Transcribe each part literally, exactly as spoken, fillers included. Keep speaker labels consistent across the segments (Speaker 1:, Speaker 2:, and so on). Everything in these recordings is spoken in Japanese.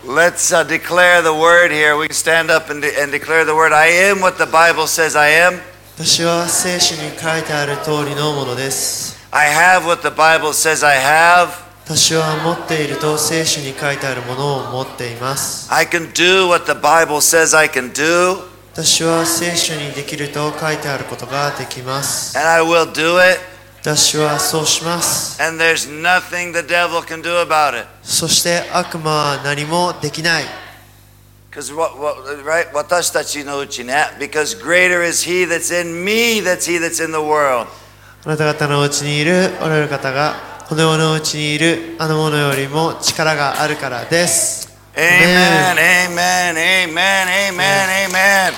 Speaker 1: Let's uh, declare the word here. We can stand up and, de- and declare the word. I am what the Bible says I am.
Speaker 2: 私は聖書に書いてある通りのものです。
Speaker 1: I have what the Bible says I have.
Speaker 2: 私は持っていると聖書に書いてあるものを持っています。
Speaker 1: I can do what the Bible says I can do.
Speaker 2: 私は聖書にできると書いてあることができます。
Speaker 1: And I will do it.
Speaker 2: 私はそうします。
Speaker 1: And there's nothing the devil can do about it.
Speaker 2: そして悪魔は何もできない。
Speaker 1: Because what, what, right? 私たちのうちね。Because greater is he that's in me, that's he that's in the world.
Speaker 2: あなた方のうちにいるおられる方がこの世のうちにいるあのものよりも力があるからです。
Speaker 1: Amen, amen, amen, amen, amen.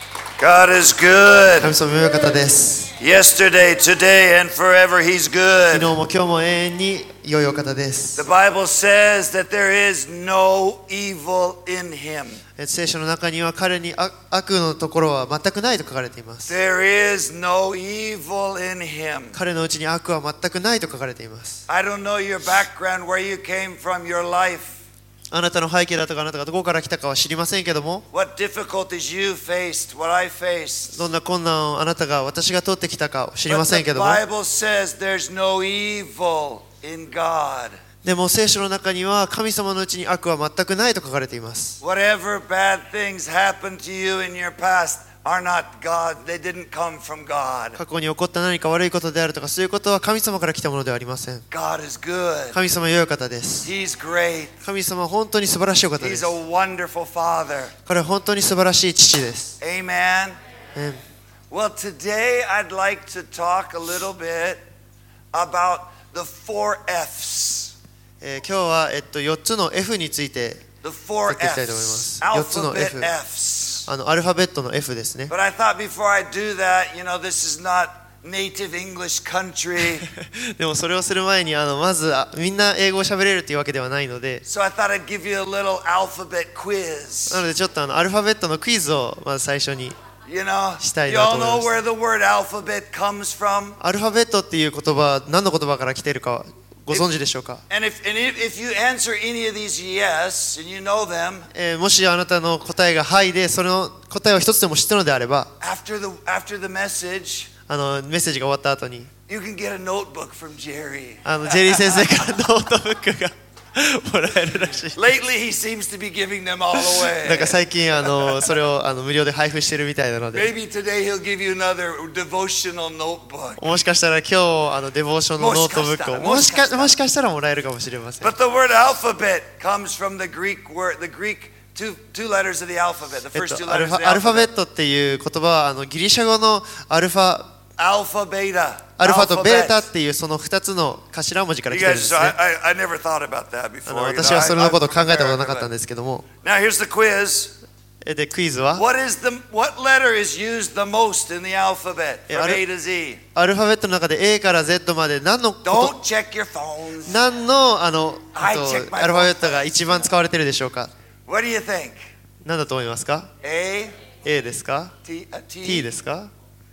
Speaker 1: God is good.
Speaker 2: 神様良い方です。
Speaker 1: Yesterday, today, and forever, He's
Speaker 2: 昨
Speaker 1: good.
Speaker 2: 日も今日も永遠に良いお方で
Speaker 1: The
Speaker 2: す。
Speaker 1: Bible says that there is no evil in Him.
Speaker 2: 聖書の中には彼に悪悪のところは全くないと書かれています。
Speaker 1: There is no evil in Him.
Speaker 2: 彼のうちに悪は全くないと書かれています。
Speaker 1: I don't know your background, where you came from, your life,
Speaker 2: あなたの背景だとかあなたがどこから来たかは知りませんけども、
Speaker 1: what difficulties you faced, what I faced.
Speaker 2: どんな困難をあなたが私が通ってきたか知り
Speaker 1: But
Speaker 2: ません
Speaker 1: the
Speaker 2: けども、
Speaker 1: Bible says there's no evil in God.
Speaker 2: でも聖書の中には神様のうちに悪は全くないと書かれています。
Speaker 1: Whatever bad things happened to you in your past are not God. They didn't come from God.
Speaker 2: 過去に起こった何か悪いことであるとかそういうことは神様から来たものではありません。
Speaker 1: God is good.
Speaker 2: 神様は良い方です。
Speaker 1: He's great.
Speaker 2: 神様は本当に素晴らしいお方で
Speaker 1: He's
Speaker 2: す。
Speaker 1: a wonderful Father.
Speaker 2: 彼は本当に素晴らしい父です。
Speaker 1: Amen.
Speaker 2: え
Speaker 1: Well, today I'd like to talk a little bit about the four F's.
Speaker 2: えー今日は、えっと、よっつの F について
Speaker 1: The four
Speaker 2: やっていきたいと思います。
Speaker 1: F's.
Speaker 2: よっつの F
Speaker 1: Alphabet F's.
Speaker 2: あのアルファベットの F ですね。
Speaker 1: But I thought before I do that, you know, this is not native English country.
Speaker 2: でもそれをする前にあのまずあみんな英語を喋れるというわけではないので、
Speaker 1: So I thought I'd give you a little alphabet quiz.
Speaker 2: なのでちょっとあのアルファベットのクイズをまず最初に。
Speaker 1: You know,
Speaker 2: したい
Speaker 1: you
Speaker 2: な
Speaker 1: all
Speaker 2: と思い
Speaker 1: know
Speaker 2: ます。
Speaker 1: where the word alphabet comes from?
Speaker 2: アルファベットっていう言葉は何の言葉から来ているかご存知でしょうか。
Speaker 1: And if, and if, if you answer any of these yes, and you know them,
Speaker 2: えーもしあなたの答えがはいでその答えを一つでも知ったのであれば、
Speaker 1: after the, after the message,
Speaker 2: あのメッセージが終わった後に
Speaker 1: you can get a notebook from Jerry.
Speaker 2: あのジェリー先生からノートブックがもらえるらしい。
Speaker 1: Lately, he seems to be giving them all
Speaker 2: なんか
Speaker 1: away.
Speaker 2: 最近あのそれをあの無料で配布してるみたいなので、
Speaker 1: Maybe today he'll give you another devotional notebook.
Speaker 2: もしかしたら今日あのデボーションのノートブックをも
Speaker 1: もしかしたら
Speaker 2: しかもしかしたらもらえるかもしれません。
Speaker 1: But the word alphabet comes from the Greek word, the Greek two, two letters of the alphabet, the
Speaker 2: えっ
Speaker 1: first two
Speaker 2: と、アル
Speaker 1: letters
Speaker 2: フ
Speaker 1: of the
Speaker 2: ァアルファベ
Speaker 1: alphabet.
Speaker 2: ットっていう言葉はあのギリシャ語のアルファ
Speaker 1: Alpha, beta.
Speaker 2: アルファとベータ
Speaker 1: Alphabet.
Speaker 2: っていうそのふたつの頭文字から
Speaker 1: You
Speaker 2: 来てるん
Speaker 1: guys,
Speaker 2: です
Speaker 1: so
Speaker 2: ね。
Speaker 1: I, I, I never thought about that
Speaker 2: あ
Speaker 1: before.
Speaker 2: の
Speaker 1: you know,
Speaker 2: 私は
Speaker 1: I-
Speaker 2: それのことを
Speaker 1: I'm
Speaker 2: 考えたこと
Speaker 1: from
Speaker 2: なかったん
Speaker 1: America,
Speaker 2: ですけども、
Speaker 1: but- Now here's the quiz.
Speaker 2: えでクイズは
Speaker 1: What is the what letter is used the most in the alphabet
Speaker 2: え
Speaker 1: from
Speaker 2: あれ
Speaker 1: A to Z?
Speaker 2: アルファベットの中で A から Z まで何のこと
Speaker 1: Don't check your phones.
Speaker 2: 何のあのあ
Speaker 1: I check
Speaker 2: と
Speaker 1: my
Speaker 2: アルファベットが一番使われているでしょうか。
Speaker 1: What do you think?
Speaker 2: 何だと思いますか。
Speaker 1: A,
Speaker 2: A ですか
Speaker 1: T, a T?
Speaker 2: T ですか。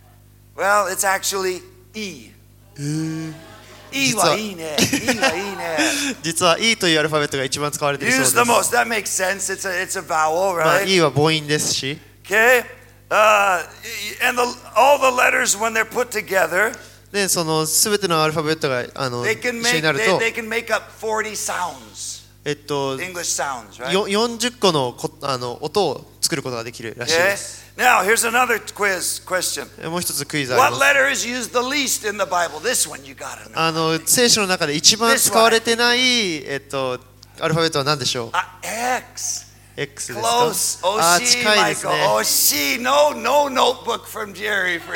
Speaker 1: Well, it's actually E. E
Speaker 2: 実は
Speaker 1: はいいね。E はいいね。
Speaker 2: 実は E というアルファベットが一番使われているそう
Speaker 1: Use
Speaker 2: です
Speaker 1: the。most. That makes sense. It's a it's a vowel,
Speaker 2: まあ
Speaker 1: right?
Speaker 2: E は母音ですし、
Speaker 1: Okay. Uh, and the, all the letters when they're put together,
Speaker 2: でそのすべてのアルファベットがあの
Speaker 1: they
Speaker 2: 一
Speaker 1: can
Speaker 2: 緒
Speaker 1: make
Speaker 2: になる
Speaker 1: they,
Speaker 2: と、
Speaker 1: they can make up forty sounds,
Speaker 2: えっと
Speaker 1: English sounds, right?
Speaker 2: よよんじゅっこのこあの音を作ることができるらしい
Speaker 1: Okay.
Speaker 2: です。
Speaker 1: Now here's another quiz question.
Speaker 2: えもう一つクイズあり
Speaker 1: What
Speaker 2: ます。
Speaker 1: letter is used the least in the Bible? This one you gotta know.
Speaker 2: あの聖書の中で一番使われてないえっとアルファベットは何でしょう。
Speaker 1: Uh, X.
Speaker 2: X ですか。
Speaker 1: Close.
Speaker 2: あ
Speaker 1: Oh,
Speaker 2: 近いです
Speaker 1: Michael.
Speaker 2: ね。
Speaker 1: Oh, she. No, no notebook from Jerry for you.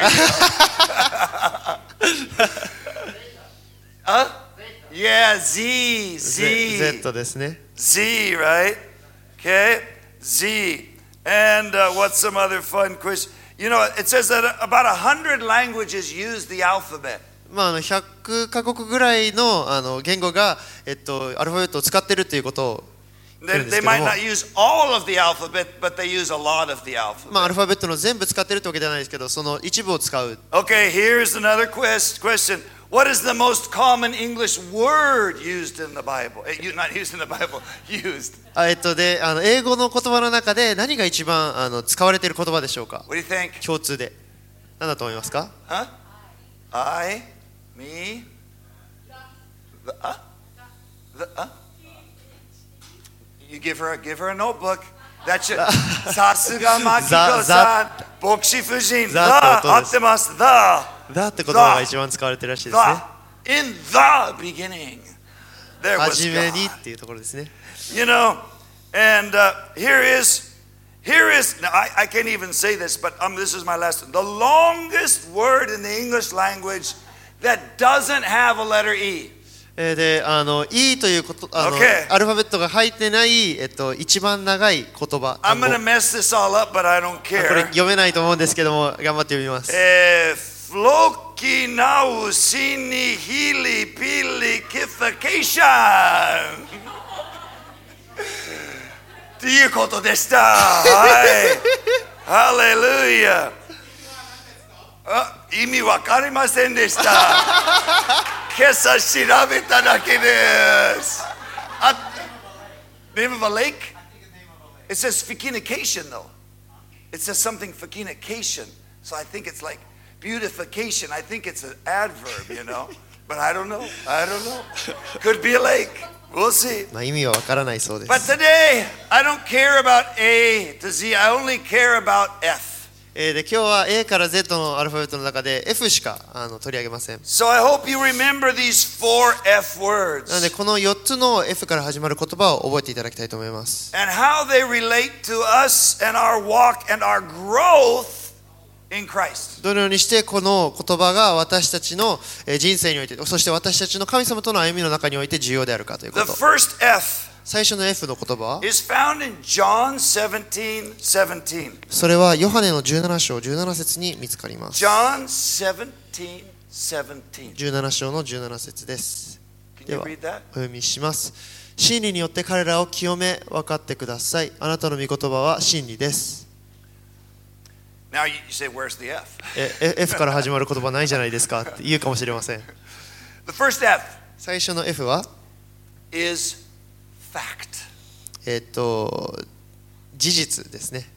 Speaker 1: huh? Yeah, Z. Z.
Speaker 2: Z, Z ですね。
Speaker 1: Z, right? Okay. Z. And uh, what's some other fun quiz? You know, it says that about a hundred languages use the alphabet.
Speaker 2: まああのひゃくカ国ぐらいのあの言語がえっとアルファベットを使ってるということを。
Speaker 1: They, they might not use all of the alphabet, but they use a lot of the
Speaker 2: まあアル
Speaker 1: alphabet.
Speaker 2: ファベットの全部使ってるってわけではないですけど、その一部を使う。
Speaker 1: Okay, here's another quest, question. What is the most common English word used in the Bible? Eh, you- Not used in the Bible, used.
Speaker 2: あえっとであの英語の言葉の中で何が一番あの使われている言葉でしょうか？
Speaker 1: What do you think?
Speaker 2: 共通で何だと思いますか？
Speaker 1: Huh? I, me, the, uh? The, uh? You give her, a, give her a notebook. That's your, さすがマキコさん、牧師夫人、
Speaker 2: ザ
Speaker 1: the
Speaker 2: って音です
Speaker 1: 合ってます、the,
Speaker 2: だって言葉が一番使われてるらしいですね。
Speaker 1: the, in the beginning. There was
Speaker 2: 初めに
Speaker 1: God.
Speaker 2: っていうところですね。
Speaker 1: You know, and uh, here is, here is, now I, I can't even say this, but um, this is my last one. The longest word in the English language that doesn't have a letter E.
Speaker 2: えーであの E ということあの、
Speaker 1: Okay.
Speaker 2: アルファベットが入ってない、えっと、一番長い言葉
Speaker 1: I'm
Speaker 2: 単語
Speaker 1: going to mess this all up, but I don't
Speaker 2: これ
Speaker 1: care.
Speaker 2: 読めないと思うんですけども頑張って読みます。
Speaker 1: Eh, Floki nau sini hili pili kification. っていうことでした。はい。ハレルヤ。あ、意味わかりませんでした。今朝調べただけです。あ、name of a lake? It says fecunication though. It says something fecunication. So I think it's like beautification. I think it's an adverb, you know. But I don't know. I don't know. Could be a lake. We'll see.
Speaker 2: まあ、意味はわからないそうで
Speaker 1: But
Speaker 2: す。
Speaker 1: today, I don't care about A to Z. I only care about F.
Speaker 2: えーで今日は A から Z のアルファベットの中で F しかあの取り上げません。
Speaker 1: So I hope you remember these four F
Speaker 2: なので
Speaker 1: words
Speaker 2: このよっつの F から始まる言葉を覚えていただきたいと思います。
Speaker 1: and how they relate to us and our walk and our growth in Christ.
Speaker 2: どのようにしてこの言葉が私たちのえー人生において、そして私たちの神様との歩みの中において重要であるかというこ
Speaker 1: The
Speaker 2: と。
Speaker 1: first F
Speaker 2: 最初の F の言葉は
Speaker 1: is found in John seventeen seventeen.
Speaker 2: それはヨハネのじゅうなな章じゅうなな節に見つかります。
Speaker 1: John seventeen seventeen.
Speaker 2: じゅうなな章のじゅうなな節です。
Speaker 1: Can
Speaker 2: で
Speaker 1: you
Speaker 2: は
Speaker 1: read that?
Speaker 2: お読みします。真理によって彼らを清め分かってください。あなたの御言葉は真理です。
Speaker 1: Now you you say, where's the F?
Speaker 2: ええ F から始まる言葉ないじゃないですかって言うかもしれません。
Speaker 1: The first F
Speaker 2: 最初の F は
Speaker 1: is fact,
Speaker 2: えっと事実ですね。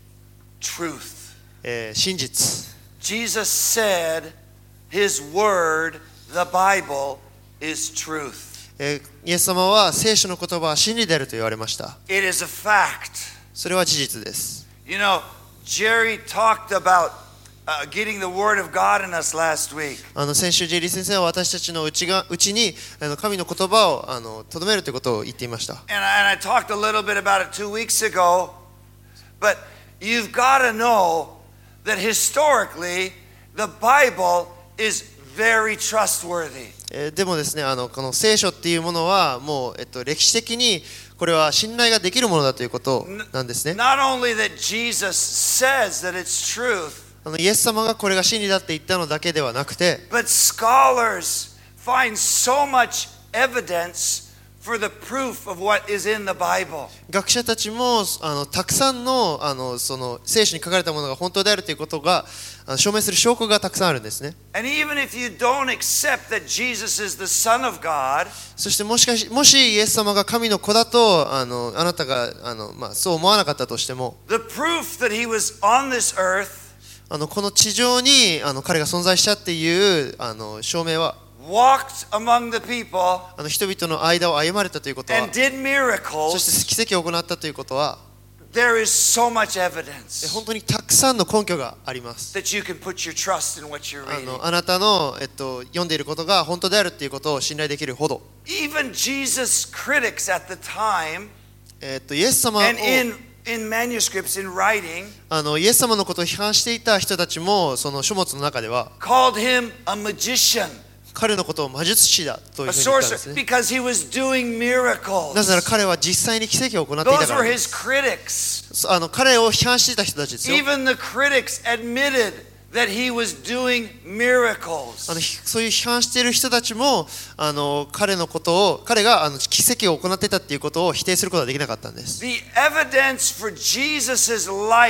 Speaker 1: truth.
Speaker 2: えー真実。
Speaker 1: Jesus said his word, the Bible, is truth.
Speaker 2: えーイエス様は聖書の言葉は真理であると言われました。
Speaker 1: It is a fact.
Speaker 2: それは事実です。
Speaker 1: You know, Jerry talked about uh, getting the word of God in us last week.
Speaker 2: あの先週ジェリー先生は私たちのうちがうちにあの神の言葉をあの留めるということを言っていました。
Speaker 1: And I, and I talked a little bit about it two weeks ago. But you've got to know that historically, the Bible is very trustworthy.
Speaker 2: えーでもですね、あのこの聖書っていうものはもう、えっと、歴史的にこれは信頼ができるものだということなんですね。
Speaker 1: Not only that Jesus says that it's truth,
Speaker 2: あのイエス様がこれが真理だって言ったのだけではなくて、
Speaker 1: but scholars find so much evidence for the proof of what is in the Bible.
Speaker 2: 学者たちもあのたくさんのあのその聖書に書かれたものが本当であるということがあの証明する証拠がたくさんあるんですね。
Speaker 1: And even if you don't accept that Jesus is the Son of God,
Speaker 2: そしてもしかしもしイエス様が神の子だとあのあなたがあの、まあ、そう思わなかったとしても、
Speaker 1: the proof that he was on this earth,
Speaker 2: あのこの地上にあの彼が存在したっていうあの証明は
Speaker 1: walked among the people,
Speaker 2: あの人々の間を歩まれたということは、
Speaker 1: and did
Speaker 2: そ
Speaker 1: miracles,
Speaker 2: して奇跡を行ったということは、
Speaker 1: there is so much
Speaker 2: え
Speaker 1: evidence
Speaker 2: 本当にたくさんの根拠があります。
Speaker 1: that you can put your trust in what you're
Speaker 2: あ
Speaker 1: reading.
Speaker 2: のあなたの、えっと、読んでいることが本当であるっていうことを信頼できるほど、
Speaker 1: Even Jesus' critics at the time,
Speaker 2: えっと、イエス様を
Speaker 1: and in, in manuscripts, in writing,
Speaker 2: あのイエス様のことを批判していた人たちもその書物の中では
Speaker 1: called him a magician,
Speaker 2: 彼のことを魔術師だとい
Speaker 1: a
Speaker 2: うふうに言ったんです
Speaker 1: sorcerer,
Speaker 2: ね。
Speaker 1: because he was doing miracles.
Speaker 2: なぜなら彼は実際に奇跡を行っていた
Speaker 1: Those
Speaker 2: から
Speaker 1: were
Speaker 2: で
Speaker 1: his
Speaker 2: す。
Speaker 1: critics.
Speaker 2: あの彼を批判していた人たちですよ。
Speaker 1: Even the critics admitted that he was doing
Speaker 2: あ
Speaker 1: miracles.
Speaker 2: のひそういう批判している人たちもあの彼のことを彼があの奇跡を行っていたっていうことを否定することはできなかったんです。
Speaker 1: The evidence for Jesus' life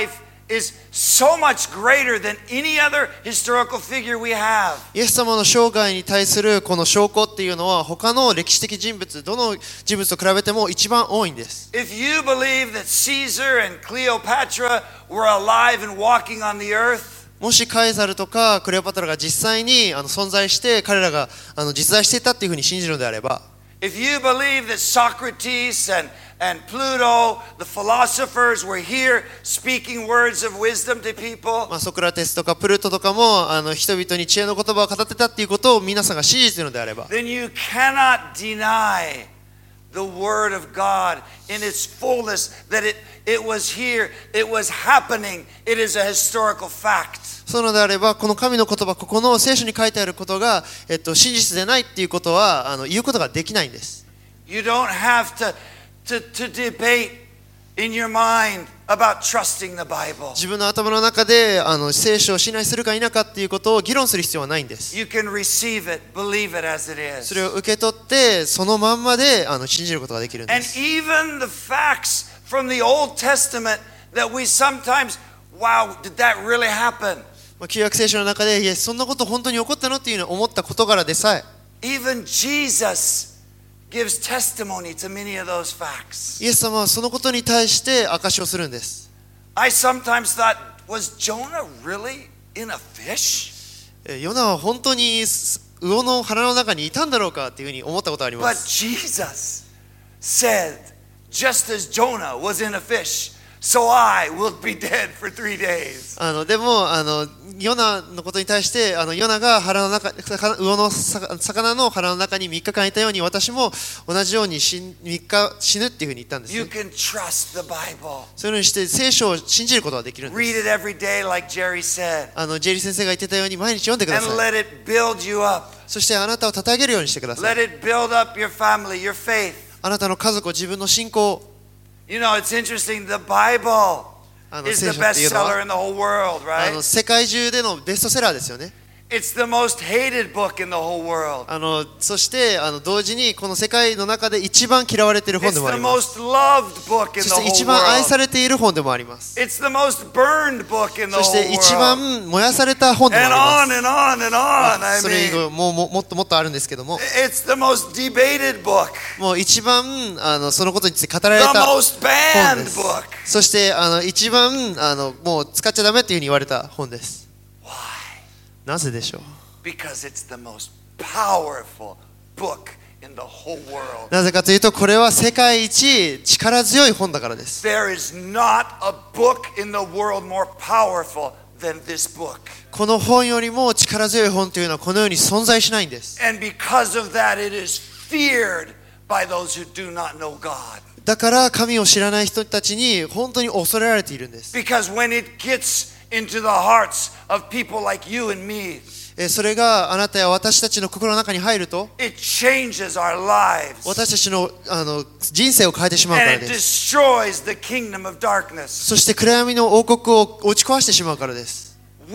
Speaker 1: is so much greater than any other historical figure we have.
Speaker 2: イエス様の生涯に対するこの証拠っていうのは他の歴史的人物、どの人物と比べても一番多いんです。
Speaker 1: If you believe that Caesar and Cleopatra were alive and walking on the earth,
Speaker 2: もしカエサルとかクレオパトラが実際にあの存在して彼らがあの実在していたっていうふうに信じるのであれば、
Speaker 1: if you believe that Socrates and and Pluto, the philosophers, were here speaking words of wisdom to people,
Speaker 2: まあ、ソクラテスとかプルトとかもあの人々に知恵の言葉を語ってたっていうことを皆さんが信じているのであれば、
Speaker 1: then you cannot deny the word of God in its fullness, that it, it was here, it was happening, it is a historical fact.
Speaker 2: そうなのであれば、この神の言葉、ここの聖書に書いてあることが、えっと、真実でないっていうことはあの言うことができないんです。
Speaker 1: You don't have to, to, to debate in your mind about trusting the Bible.
Speaker 2: 自分の頭の中であの聖書を信頼するか否かっていうことを議論する必要はないんです。
Speaker 1: You can receive it, believe it as it is.
Speaker 2: それを受け取ってそのまんまであの信じることができるんで
Speaker 1: And
Speaker 2: す。
Speaker 1: even the facts from the Old Testament that we sometimes, wow, did that really happen?
Speaker 2: まあ、旧約聖書の中で、いや、そんなこと本当に起こったのっていうのを思った事柄でさえ、
Speaker 1: Even Jesus gives testimony to many of those facts.
Speaker 2: イエス様はそのことに対して証しをするんです。
Speaker 1: I sometimes thought, was Jonah really in a fish?
Speaker 2: えヨナは本当に魚の腹の中にいたんだろうかっていうふうに思ったことがありま
Speaker 1: But
Speaker 2: す。
Speaker 1: Jesus said, just as Jonah was in a fish, so I will be dead for three days.
Speaker 2: あのでもあのヨナのことに対してあのヨナが腹の中魚の魚の腹の中にみっかかんいたように私も同じようにみっか死ぬっていうふうに言ったんです、ね。
Speaker 1: You can trust the Bible.
Speaker 2: そういうふうにして聖書を信じることができるんで
Speaker 1: Read
Speaker 2: す。
Speaker 1: it every day, like Jerry said,
Speaker 2: あのジェリー先生が言ってたように毎日読んでくだ
Speaker 1: and
Speaker 2: さい。
Speaker 1: let it build you up.
Speaker 2: そしてあなたを称げるようにしてください。
Speaker 1: Let it build up your family, your faith.
Speaker 2: あなたの家族を自分の信仰を
Speaker 1: You know, it's interesting. The Bible
Speaker 2: あの
Speaker 1: is
Speaker 2: 聖
Speaker 1: the
Speaker 2: 書っていうの
Speaker 1: bestseller
Speaker 2: は
Speaker 1: in the whole world,
Speaker 2: あ
Speaker 1: right?
Speaker 2: の世界中でのベストセラーですよね。
Speaker 1: It's the most hated book in the whole world.
Speaker 2: あのそしてあの同時にこの世界の中で一番嫌われている本
Speaker 1: It's
Speaker 2: でもあ
Speaker 1: the
Speaker 2: ります。
Speaker 1: most loved book in
Speaker 2: そ
Speaker 1: the
Speaker 2: して一
Speaker 1: whole
Speaker 2: 番愛さ
Speaker 1: world.
Speaker 2: れている本でもあります。
Speaker 1: It's the most burned book in the
Speaker 2: そし
Speaker 1: whole
Speaker 2: て一
Speaker 1: world.
Speaker 2: 番燃やされた本でも
Speaker 1: And
Speaker 2: あ
Speaker 1: on
Speaker 2: り
Speaker 1: and on and on.
Speaker 2: ま
Speaker 1: I
Speaker 2: す。それ以
Speaker 1: mean,
Speaker 2: 後もうももっともっとあるんですけども、
Speaker 1: it's the most debated book,
Speaker 2: もう一番あのそのことについて語られ
Speaker 1: the
Speaker 2: た
Speaker 1: most
Speaker 2: 本
Speaker 1: banned
Speaker 2: です。
Speaker 1: book.
Speaker 2: そしてあの一番あのもう使っちゃダメっていうふうに言われた本です。
Speaker 1: Why?
Speaker 2: なぜでしょう。
Speaker 1: Because it's the most powerful book in the whole world.
Speaker 2: なぜかというとこれは世界一力強い本だからです。
Speaker 1: There is not a book in the world more powerful than this book.
Speaker 2: この本よりも力強い本というのはこの世に存在しないんです。
Speaker 1: And because of that, it is feared by those who do not know God.
Speaker 2: だから神を知らない人たちに本当に恐れられているんです。
Speaker 1: Because when it gets into the hearts of people like you and me,
Speaker 2: それがあなたや私たちの心の中に入ると、
Speaker 1: it changes our lives.
Speaker 2: 私たちの、あの人生を変えてしまうから
Speaker 1: And it
Speaker 2: です。
Speaker 1: destroys the kingdom of darkness.
Speaker 2: そして暗闇の王国を打ち壊してしまうからです。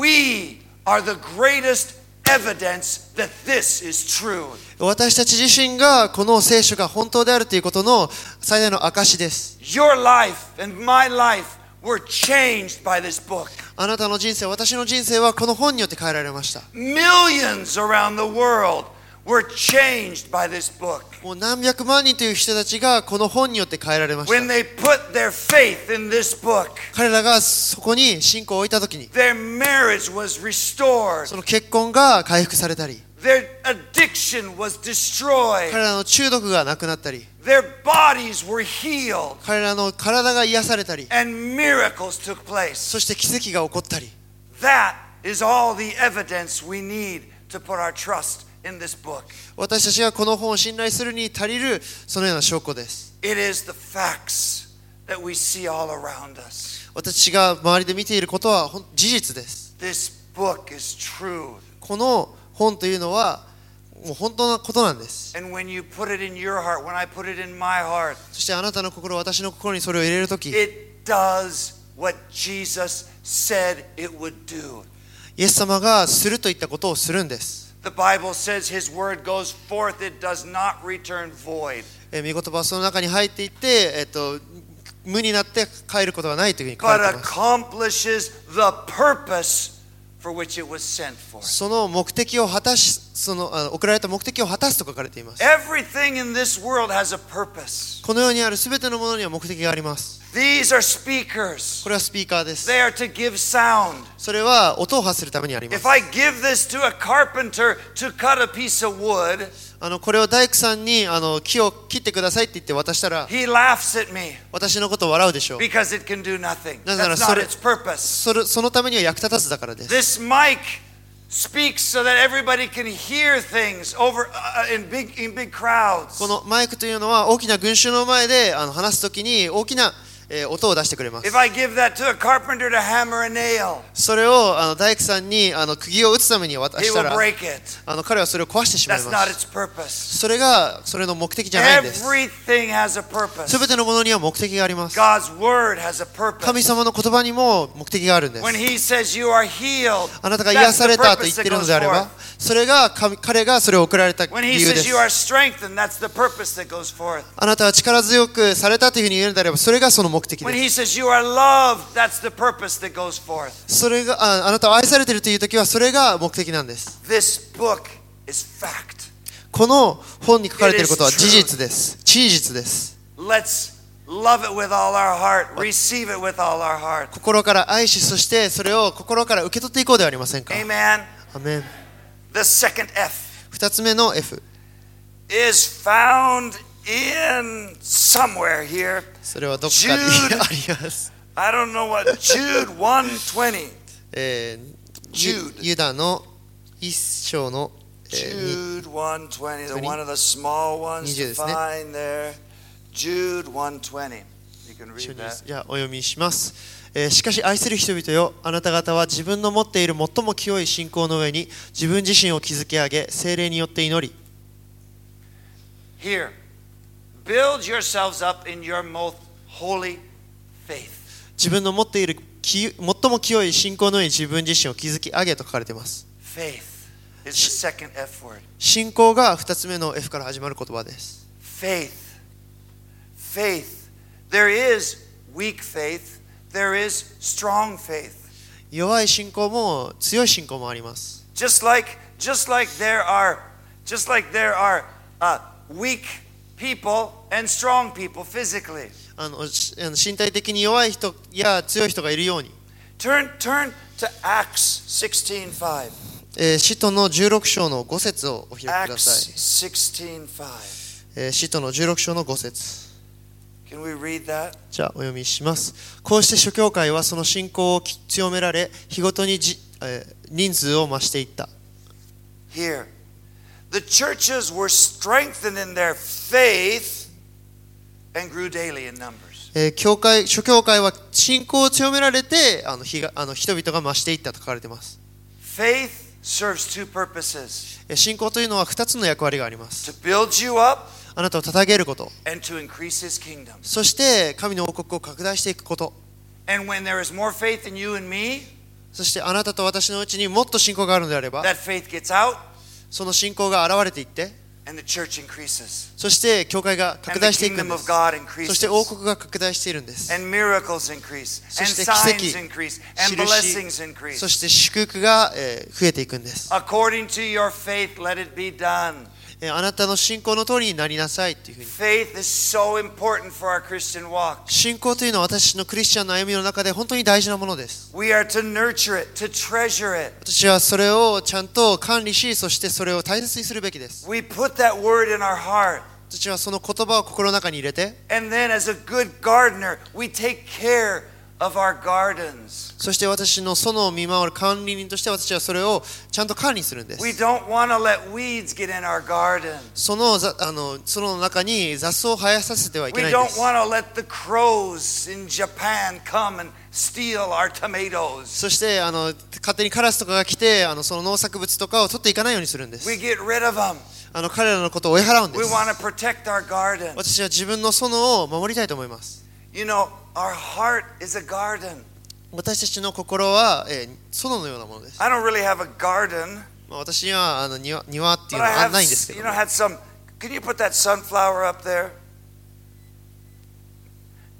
Speaker 1: We are the greatest evidence that this is true.
Speaker 2: 私たち自身がこの聖書が本当であるということの最大の証です。
Speaker 1: Your life and my life were changed by this book.
Speaker 2: あなたの人生、私の人生はこの本によって変えられました。
Speaker 1: Millions around the world were changed by this book.
Speaker 2: もう何百万人という人たちがこの本によって変えられまし
Speaker 1: When
Speaker 2: た。
Speaker 1: they put their faith in this book,
Speaker 2: 彼らがそこに信仰を置いたときに、
Speaker 1: their marriage was restored.
Speaker 2: その結婚が回復されたり、
Speaker 1: Their addiction was destroyed.
Speaker 2: 彼らの中毒がなくなったり、
Speaker 1: Their bodies were healed.
Speaker 2: 彼らの体が癒されたり、
Speaker 1: And miracles took place.
Speaker 2: そして奇跡が起こったり、
Speaker 1: That is all the evidence we need to put our trust in this book.
Speaker 2: 私たちがこの本を信頼するに足りるそのような証拠です。
Speaker 1: It is the facts that we see all around us.
Speaker 2: 私が周りで見ていることは事実です。
Speaker 1: This book is true.
Speaker 2: この本というのはもう本当なことなんです。
Speaker 1: And when you put it in your heart, when I put it in my heart,
Speaker 2: そしてあなたの心、私の心にそれを入れるとき、
Speaker 1: it does what Jesus said it would do.
Speaker 2: イエス様がするといったことをするんです。
Speaker 1: The Bible says his word goes forth, it does not return void.
Speaker 2: えー、御言葉はその中に入っていって、えっと、 無になって帰ることはないというふうに書か
Speaker 1: but
Speaker 2: れています。
Speaker 1: accomplishes the purpose for which it was sent for.
Speaker 2: その目的を果たし、そのあの送られた目的を果たすと書かれています。
Speaker 1: Everything in this world has a purpose.
Speaker 2: この世にあるすべてのものには目的があります。
Speaker 1: These are speakers.
Speaker 2: これはスピーカーです。
Speaker 1: They are to give sound.
Speaker 2: それは音を発するためにあります。
Speaker 1: If I give this to a carpenter to cut a piece of wood,
Speaker 2: あのこれを大工さんにあの木を切ってくださいって言って渡したら、
Speaker 1: he laughs at me
Speaker 2: 私のことを笑うでしょう。
Speaker 1: because it can do nothing.
Speaker 2: なぜなら
Speaker 1: That's
Speaker 2: そ
Speaker 1: not
Speaker 2: れ
Speaker 1: its purpose.
Speaker 2: それそのためには役立たずだからです。
Speaker 1: This mic speaks so that everybody can hear things over uh, in big in big crowds.
Speaker 2: このマイクというのは大きな群衆の前であの話すときに大きな、えー音を出してくれます。
Speaker 1: If I give that to a carpenter to hammer a nail,
Speaker 2: それをあの大工さんにあの釘を打つために渡
Speaker 1: he
Speaker 2: した
Speaker 1: will
Speaker 2: ら、
Speaker 1: break it.
Speaker 2: あの彼はそれを壊してしまい
Speaker 1: That's
Speaker 2: ま
Speaker 1: not
Speaker 2: す。
Speaker 1: its purpose.
Speaker 2: それがそれの目的じゃないんです。
Speaker 1: Everything has a purpose.
Speaker 2: すべてのものには目的があります。
Speaker 1: God's word has a
Speaker 2: 神
Speaker 1: purpose.
Speaker 2: 様の言葉にも目的があるんです。
Speaker 1: When he says you are healed,
Speaker 2: あなたが癒
Speaker 1: that's
Speaker 2: さ
Speaker 1: the
Speaker 2: れたと言
Speaker 1: purpose
Speaker 2: って
Speaker 1: that
Speaker 2: いるの
Speaker 1: goes
Speaker 2: であれば、
Speaker 1: forth.
Speaker 2: それが神彼がそれを送られた
Speaker 1: When
Speaker 2: 理
Speaker 1: he
Speaker 2: 由で
Speaker 1: says
Speaker 2: す。
Speaker 1: you are strengthened, that's the purpose that goes forth.
Speaker 2: あなたは力強くされたというふうに言えるのであれば、それがその目的
Speaker 1: When
Speaker 2: で
Speaker 1: he
Speaker 2: す。
Speaker 1: says you are loved, that's the purpose that goes forth.
Speaker 2: それが あ, あなたを愛されているというときは、それが目的なんです。
Speaker 1: This book is fact.
Speaker 2: この本に書かれていることは事実です。事実です。
Speaker 1: Let's love it with all our heart, receive it with all our heart.
Speaker 2: 心から愛し、そしてそれを心から受け取っていこうではありませんか。
Speaker 1: Amen.
Speaker 2: アメン。
Speaker 1: The second F
Speaker 2: 二つ目の F。
Speaker 1: is found in somewhere here.
Speaker 2: それはどこかに
Speaker 1: Jude
Speaker 2: あります。
Speaker 1: I don't know what. Jude one twenty.
Speaker 2: えー
Speaker 1: Jude
Speaker 2: ユダの一章の、えー
Speaker 1: Jude one twenty, the
Speaker 2: twenty.
Speaker 1: one of the small ones
Speaker 2: にじゅう
Speaker 1: to
Speaker 2: ですね。
Speaker 1: find there. Jude one twenty. You can
Speaker 2: 一緒
Speaker 1: read
Speaker 2: にです
Speaker 1: that.
Speaker 2: じゃあお読みします、えーしかし愛する人々よ、あなた方は自分の持っている最も清い信仰の上に自分自身を築き上げ、聖霊によって祈り。
Speaker 1: Here, build yourselves up in your most holy faith.
Speaker 2: 自分の持っているき最も清い信仰の上に自分自身を築き上げと書かれています。
Speaker 1: Faith is the second F word.
Speaker 2: 信仰が二つ目の F から始まる言葉です。
Speaker 1: Faith. Faith. There is weak faith. There is strong faith.
Speaker 2: 弱い信仰も強い信仰もあります。
Speaker 1: Just like, just like there are, just like there are uh, weak people and strong people physically.
Speaker 2: あのしあの身体的に弱い人や強い人がいるように、
Speaker 1: Turn, turn to Acts sixteen five.
Speaker 2: えー使徒のじゅうろく章のご節をお開きくだ
Speaker 1: Acts
Speaker 2: さい。
Speaker 1: sixteen five.
Speaker 2: えー使徒のじゅうろく章のご節。
Speaker 1: Can we read that?
Speaker 2: じゃあお読みします。こうして諸教会はその信仰を強められ、日ごとにじ、えー人数を増していった。
Speaker 1: Here, the churches were strengthened in their faith and grew daily in numbers.
Speaker 2: えー教会諸教会は信仰を強められて、あの日があの人々が増していったと書かれています。
Speaker 1: Faith serves two purposes.
Speaker 2: えー信仰というのはふたつの役割があります。
Speaker 1: To build you up
Speaker 2: あなたを捧げること、
Speaker 1: and to increase his kingdom.
Speaker 2: そして神の王国を拡大していくこと、
Speaker 1: And when there is more faith in you and me,
Speaker 2: そしてあなたと私のうちにもっと信仰があるのであれば、
Speaker 1: that faith gets out
Speaker 2: その信仰が現れていって、
Speaker 1: and the church increases.
Speaker 2: そして教会が
Speaker 1: And
Speaker 2: 拡
Speaker 1: the
Speaker 2: 大していくん
Speaker 1: kingdom
Speaker 2: で
Speaker 1: of
Speaker 2: す。
Speaker 1: God
Speaker 2: そして
Speaker 1: increases.
Speaker 2: 王国が拡大しているんです。
Speaker 1: And miracles increase.
Speaker 2: そ
Speaker 1: And
Speaker 2: して奇
Speaker 1: signs
Speaker 2: 跡、
Speaker 1: increase. And
Speaker 2: 印、
Speaker 1: blessings increase.
Speaker 2: そして祝福が、えー増えていくんです。
Speaker 1: According to your faith, let it be done.
Speaker 2: えーあなたの信仰の通りになりなさいというふうに。
Speaker 1: Faith is so important for our Christian walk.
Speaker 2: 信仰というのは私のクリスチャンの歩みの中で本当に大事なものです。
Speaker 1: We are to nurture it, to treasure it.
Speaker 2: 私はそれをちゃんと管理し、そしてそれを大切にするべきです。
Speaker 1: We put that word in our heart.
Speaker 2: 私はその言葉を心の中に入れて、
Speaker 1: And then as a good gardener, we take care of our gardens.
Speaker 2: そして私の園を見守る管理人として私はそれをちゃんと管理するんです。
Speaker 1: We don't want to let weeds get in our garden.
Speaker 2: そのざあの園の中に雑草を生やさせてはいけ
Speaker 1: We
Speaker 2: ないん
Speaker 1: don't
Speaker 2: です。
Speaker 1: want to let the crows in Japan come and steal our tomatoes.
Speaker 2: そしてあの勝手にカラスとかが来てあのその農作物とかを取っていかないようにするんです。
Speaker 1: We get rid of them.
Speaker 2: あの彼らのことを追い払うんで
Speaker 1: We
Speaker 2: す。
Speaker 1: want to protect our garden.
Speaker 2: 私は自分の園を守りたいと思います。
Speaker 1: You know, our heart is a garden.
Speaker 2: 私たちの心は、えー、園のようなものです。
Speaker 1: I don't really have a garden,
Speaker 2: まあ、私にはあの庭、庭っていう
Speaker 1: but
Speaker 2: の
Speaker 1: I
Speaker 2: は
Speaker 1: have,
Speaker 2: ないんですけ
Speaker 1: you
Speaker 2: ど
Speaker 1: know,
Speaker 2: も、
Speaker 1: had some. Can you put that sunflower up there?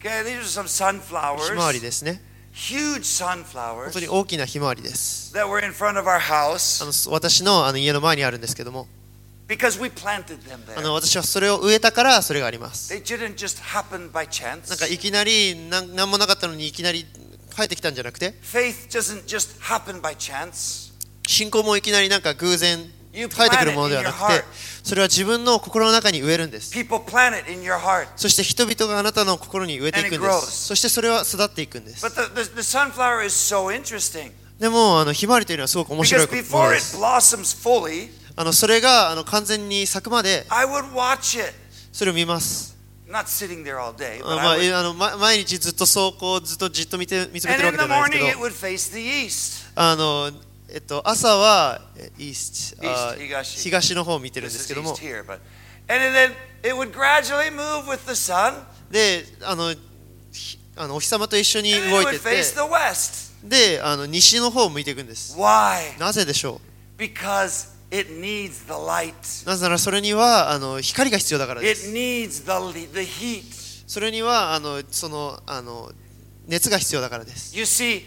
Speaker 1: Okay, these are some
Speaker 2: ひまわり
Speaker 1: sunflowers,
Speaker 2: ですね。
Speaker 1: huge
Speaker 2: 本
Speaker 1: sunflowers
Speaker 2: 当に大きなひまわりです。
Speaker 1: that were in front of our
Speaker 2: あ
Speaker 1: house
Speaker 2: の私のあの家の前にあるんですけども、
Speaker 1: because we planted them
Speaker 2: あの
Speaker 1: there.
Speaker 2: 私はそれを植えたからそれがあります。
Speaker 1: They didn't just happen by
Speaker 2: なんか
Speaker 1: chance.
Speaker 2: いきなりなん何もなかったのにいきなり生えてきたんじゃなくて、
Speaker 1: Faith doesn't just happen by chance.
Speaker 2: 信仰もいきなりなんか偶然
Speaker 1: You
Speaker 2: 生えてく
Speaker 1: plant
Speaker 2: る
Speaker 1: it
Speaker 2: もの
Speaker 1: in
Speaker 2: では
Speaker 1: your
Speaker 2: なくて、
Speaker 1: heart.
Speaker 2: それは自分の心の中に植えるんです。
Speaker 1: People plant it in your heart.
Speaker 2: そして人々があなたの心に植えていくん
Speaker 1: And
Speaker 2: で
Speaker 1: it grows.
Speaker 2: す。そしてそれは育っていくんです。
Speaker 1: But the, the, the sunflower is so interesting
Speaker 2: でもあのひまわりというのはすごく面白
Speaker 1: because
Speaker 2: いもの
Speaker 1: before
Speaker 2: で
Speaker 1: it
Speaker 2: す。
Speaker 1: blossoms fully,
Speaker 2: あのそれがあの完全に咲くまで
Speaker 1: I would watch it.
Speaker 2: それを見ます。
Speaker 1: Not sitting there all day,
Speaker 2: あ
Speaker 1: but
Speaker 2: まあ
Speaker 1: I would.
Speaker 2: えあのま毎日ずっとそうこうずっとじっと見て見つめて
Speaker 1: And
Speaker 2: るわ
Speaker 1: in
Speaker 2: けじ
Speaker 1: the
Speaker 2: ゃないですけ
Speaker 1: morning,
Speaker 2: ど、
Speaker 1: it would face the east.
Speaker 2: あのえっと朝はえイースト、あ
Speaker 1: East 東
Speaker 2: 東の方を見てるんで
Speaker 1: This
Speaker 2: す
Speaker 1: is
Speaker 2: けども、
Speaker 1: east here, but and then it would gradually move with the sun,
Speaker 2: であのひあのお日様と一緒に
Speaker 1: and
Speaker 2: 動
Speaker 1: it
Speaker 2: いて
Speaker 1: would
Speaker 2: て、
Speaker 1: face the west.
Speaker 2: であの西の方を向いていくんです。
Speaker 1: Why?
Speaker 2: なぜでしょ
Speaker 1: Because it needs the light.
Speaker 2: う。なぜならそれにはあの光が必要だからで
Speaker 1: It
Speaker 2: す。
Speaker 1: needs the the heat.
Speaker 2: それにはあのそのあの熱が必要だからです。
Speaker 1: You see,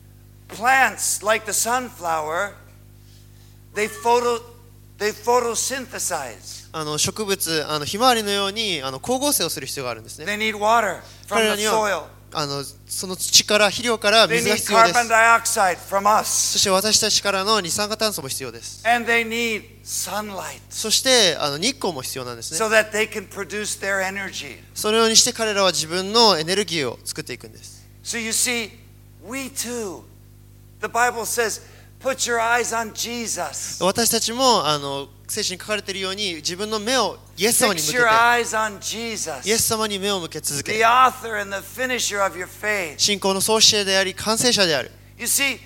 Speaker 1: plants like the sunflower, they photo they photosynthesize.
Speaker 2: あの植物あのひまわりのようにあの光合成をする必要があるんですね。
Speaker 1: They need water from
Speaker 2: 彼ら
Speaker 1: the
Speaker 2: には
Speaker 1: soil.
Speaker 2: あのその土から肥料から
Speaker 1: They
Speaker 2: 水が
Speaker 1: need
Speaker 2: 必要で
Speaker 1: carbon
Speaker 2: す。
Speaker 1: dioxide from us.
Speaker 2: そして私たちからの二酸化炭素も必要です。
Speaker 1: And they need sunlight
Speaker 2: そしてあの日光も必要なんですね。
Speaker 1: so that they can produce their energy.
Speaker 2: そのようにして彼らは自分のエネルギーを作っていくんです。
Speaker 1: So you see, we too, the Bible says, put your eyes on Jesus.
Speaker 2: 私たちもあの聖書に書かれているように自分の目をイエス様に
Speaker 1: Fix
Speaker 2: 向け
Speaker 1: your
Speaker 2: て
Speaker 1: eyes on Jesus,
Speaker 2: イエス様に目を向け続
Speaker 1: the
Speaker 2: け、
Speaker 1: author and the finisher of your faith.
Speaker 2: 信仰の創始者であり完成者である。
Speaker 1: You see,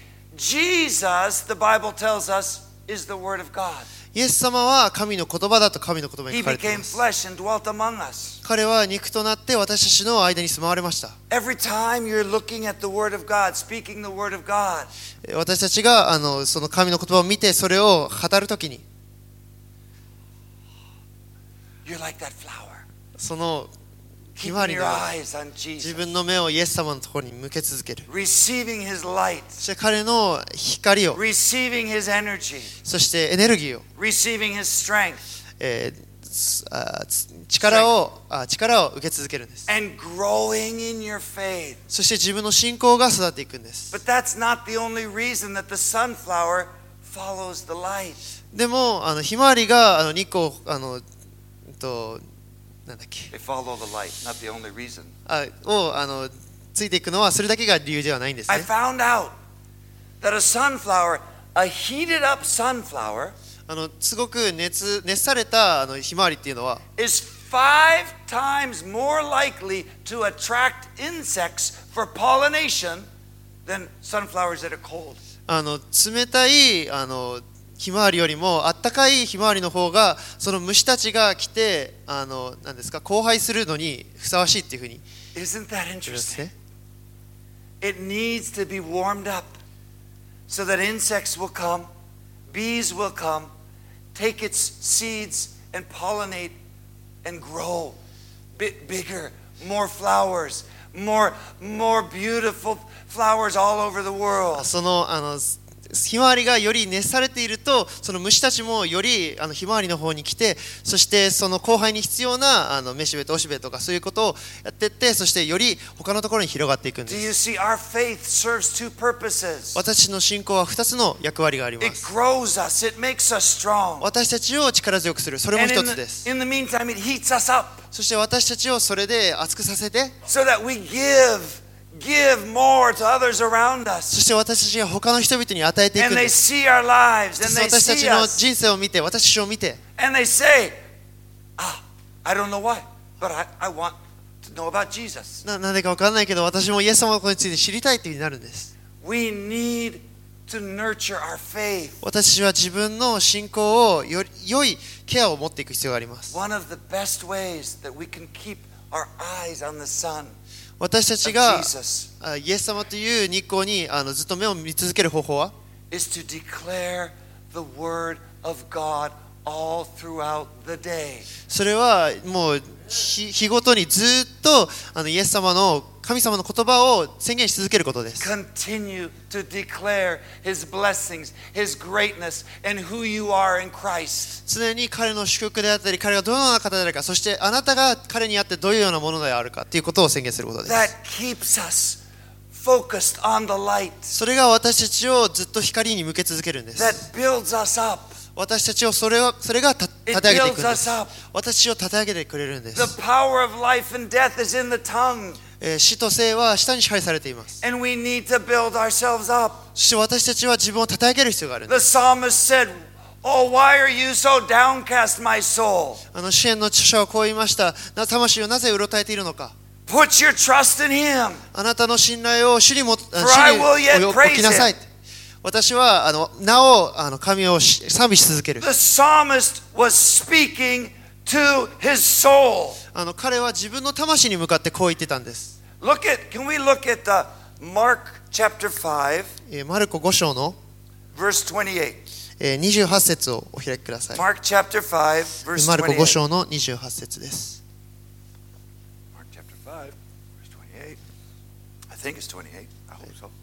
Speaker 1: Jesus, the Bible tells us, is the Word of God.
Speaker 2: イエス様は神の言葉だと神の言葉に
Speaker 1: He
Speaker 2: 書かれてい
Speaker 1: became
Speaker 2: ます。
Speaker 1: flesh and dwelt among us.
Speaker 2: 彼は肉となって私たちの間に住まわれました。
Speaker 1: Every time you're looking at the Word of God, speaking the Word of God,
Speaker 2: 私たちがあのその神の言葉を見てそれを語るときに、
Speaker 1: you're like that flower.
Speaker 2: そのひまわ
Speaker 1: Keeping
Speaker 2: り
Speaker 1: your
Speaker 2: のように
Speaker 1: eyes on
Speaker 2: 自
Speaker 1: Jesus.
Speaker 2: 分の目をイエス様のところに向け続ける。
Speaker 1: Receiving His light,
Speaker 2: そして彼の光を、
Speaker 1: receiving His energy,
Speaker 2: そしてエネルギーを、
Speaker 1: receiving His strength,
Speaker 2: えーつあつ力をあ力を受け続けるんです。
Speaker 1: and growing in your faith.
Speaker 2: そして自分の信仰が育っていくんです。
Speaker 1: But that's not the only reason that the sunflower follows the light.
Speaker 2: でもあのひまわりがあの日光をあのうんとなんだっけ
Speaker 1: They follow the light, not the only reason.
Speaker 2: あをあのついていくのはそれだけが理由ではないんです
Speaker 1: I
Speaker 2: ね。
Speaker 1: found out that a sunflower, a heated up sunflower,
Speaker 2: あのすごく熱熱されたあのひまわりっていうのは
Speaker 1: is five times more likely to attract insects for pollination than sunflowers that are cold.
Speaker 2: あの冷たいあのひまわりよりもあったかいひまわりの方がその虫たちが来てあのなんですか交配するのにふさわしいっていうふうに
Speaker 1: Isn't that
Speaker 2: 言うんです
Speaker 1: interesting?
Speaker 2: ね。
Speaker 1: It needs to be warmed up so that insects will come, bees will come, take its seeds and pollinate and grow bit bigger, more flowers, more more beautiful flowers all over the world.
Speaker 2: そのあのひまわりがより熱されているとその虫たちもよりあのひまわりの方に来て、そしてその交配に必要なあのめしべとおしべとかそういうことをやっていって、そしてより他のところに広がっていくんで
Speaker 1: Do you
Speaker 2: す。
Speaker 1: see, our faith serves two purposes.
Speaker 2: 私の信仰はふたつの役割がありま
Speaker 1: It
Speaker 2: す。
Speaker 1: grows us, it makes us strong.
Speaker 2: 私たちを力強くする、それも
Speaker 1: And
Speaker 2: 一
Speaker 1: in
Speaker 2: つで
Speaker 1: the,
Speaker 2: す。
Speaker 1: in the meantime, it heats us up
Speaker 2: そして私たちをそれで熱くさせて、
Speaker 1: so that we give, give more to others around
Speaker 2: そ
Speaker 1: us.
Speaker 2: して私たちが他の人々に与えていくん
Speaker 1: And
Speaker 2: で
Speaker 1: they
Speaker 2: す。
Speaker 1: see our lives
Speaker 2: そ
Speaker 1: and
Speaker 2: して
Speaker 1: they
Speaker 2: 私たち
Speaker 1: see
Speaker 2: の
Speaker 1: us
Speaker 2: 人生を見て、私たちを見て、
Speaker 1: and they say, ah, I don't know why, but I, I want to know about Jesus.
Speaker 2: ななんでか分からないけど私もイエス様のことについて知りたいというふうになるんです。
Speaker 1: We need to nurture our faith.
Speaker 2: 私たちは自分の信仰をより良いケアを持っていく必要があります。
Speaker 1: One of the best ways that we can keep our eyes on the sun
Speaker 2: 私たち
Speaker 1: of
Speaker 2: が
Speaker 1: Jesus
Speaker 2: あイエス様という日光にあのずっと目を見続ける方法は
Speaker 1: is to declare the word of God all throughout the day.
Speaker 2: それはもう日日ごとにずっとあのイエス様の神様の言葉を宣言し続けることです。
Speaker 1: Continue to declare His blessings, His greatness, and who you are in Christ.
Speaker 2: 常に彼の祝福であったり、彼がどのような方であるか、そしてあなたが彼にあってどういうようなものであるかということを宣言することです。
Speaker 1: That keeps us focused on the light.
Speaker 2: それが私たちをずっと光に向け続けるんです。
Speaker 1: That builds us up.
Speaker 2: 私たちをそれをそれがた立て上げていくん
Speaker 1: It builds
Speaker 2: で
Speaker 1: us
Speaker 2: す。
Speaker 1: up.
Speaker 2: 私を立て上げてくれるんで
Speaker 1: The
Speaker 2: す。
Speaker 1: power of life and death is in the tongue.
Speaker 2: えー死と生は舌に支配されています。
Speaker 1: And we need to build ourselves up.
Speaker 2: そして私たちは自分を立て上げる必要があるん
Speaker 1: The
Speaker 2: です。
Speaker 1: psalmist said, Oh, why are you so downcast, my soul?
Speaker 2: あの詩篇の著者はこう言いました。な魂をなぜうろたえているのか。
Speaker 1: Put your trust in Him.
Speaker 2: あなたの信頼を主にも主
Speaker 1: For I will
Speaker 2: に
Speaker 1: yet
Speaker 2: 置
Speaker 1: praise
Speaker 2: きなさい。
Speaker 1: Him.
Speaker 2: 私はあのなおあの神をし賛美し続ける。
Speaker 1: The psalmist was speaking to his soul.
Speaker 2: あの彼は自分の魂に向かってこう言ってたんです。
Speaker 1: Look at, can we look at the Mark chapter five,
Speaker 2: えーマルコご章の、
Speaker 1: verse twenty-eight.
Speaker 2: えーにじゅうはち節をお開きください。
Speaker 1: Mark chapter five, verse
Speaker 2: マルコご
Speaker 1: twenty-eight.
Speaker 2: 章のにじゅうはち節です。
Speaker 1: Mark chapter five, verse twenty-eight. I think it's twenty-eight. I hope so.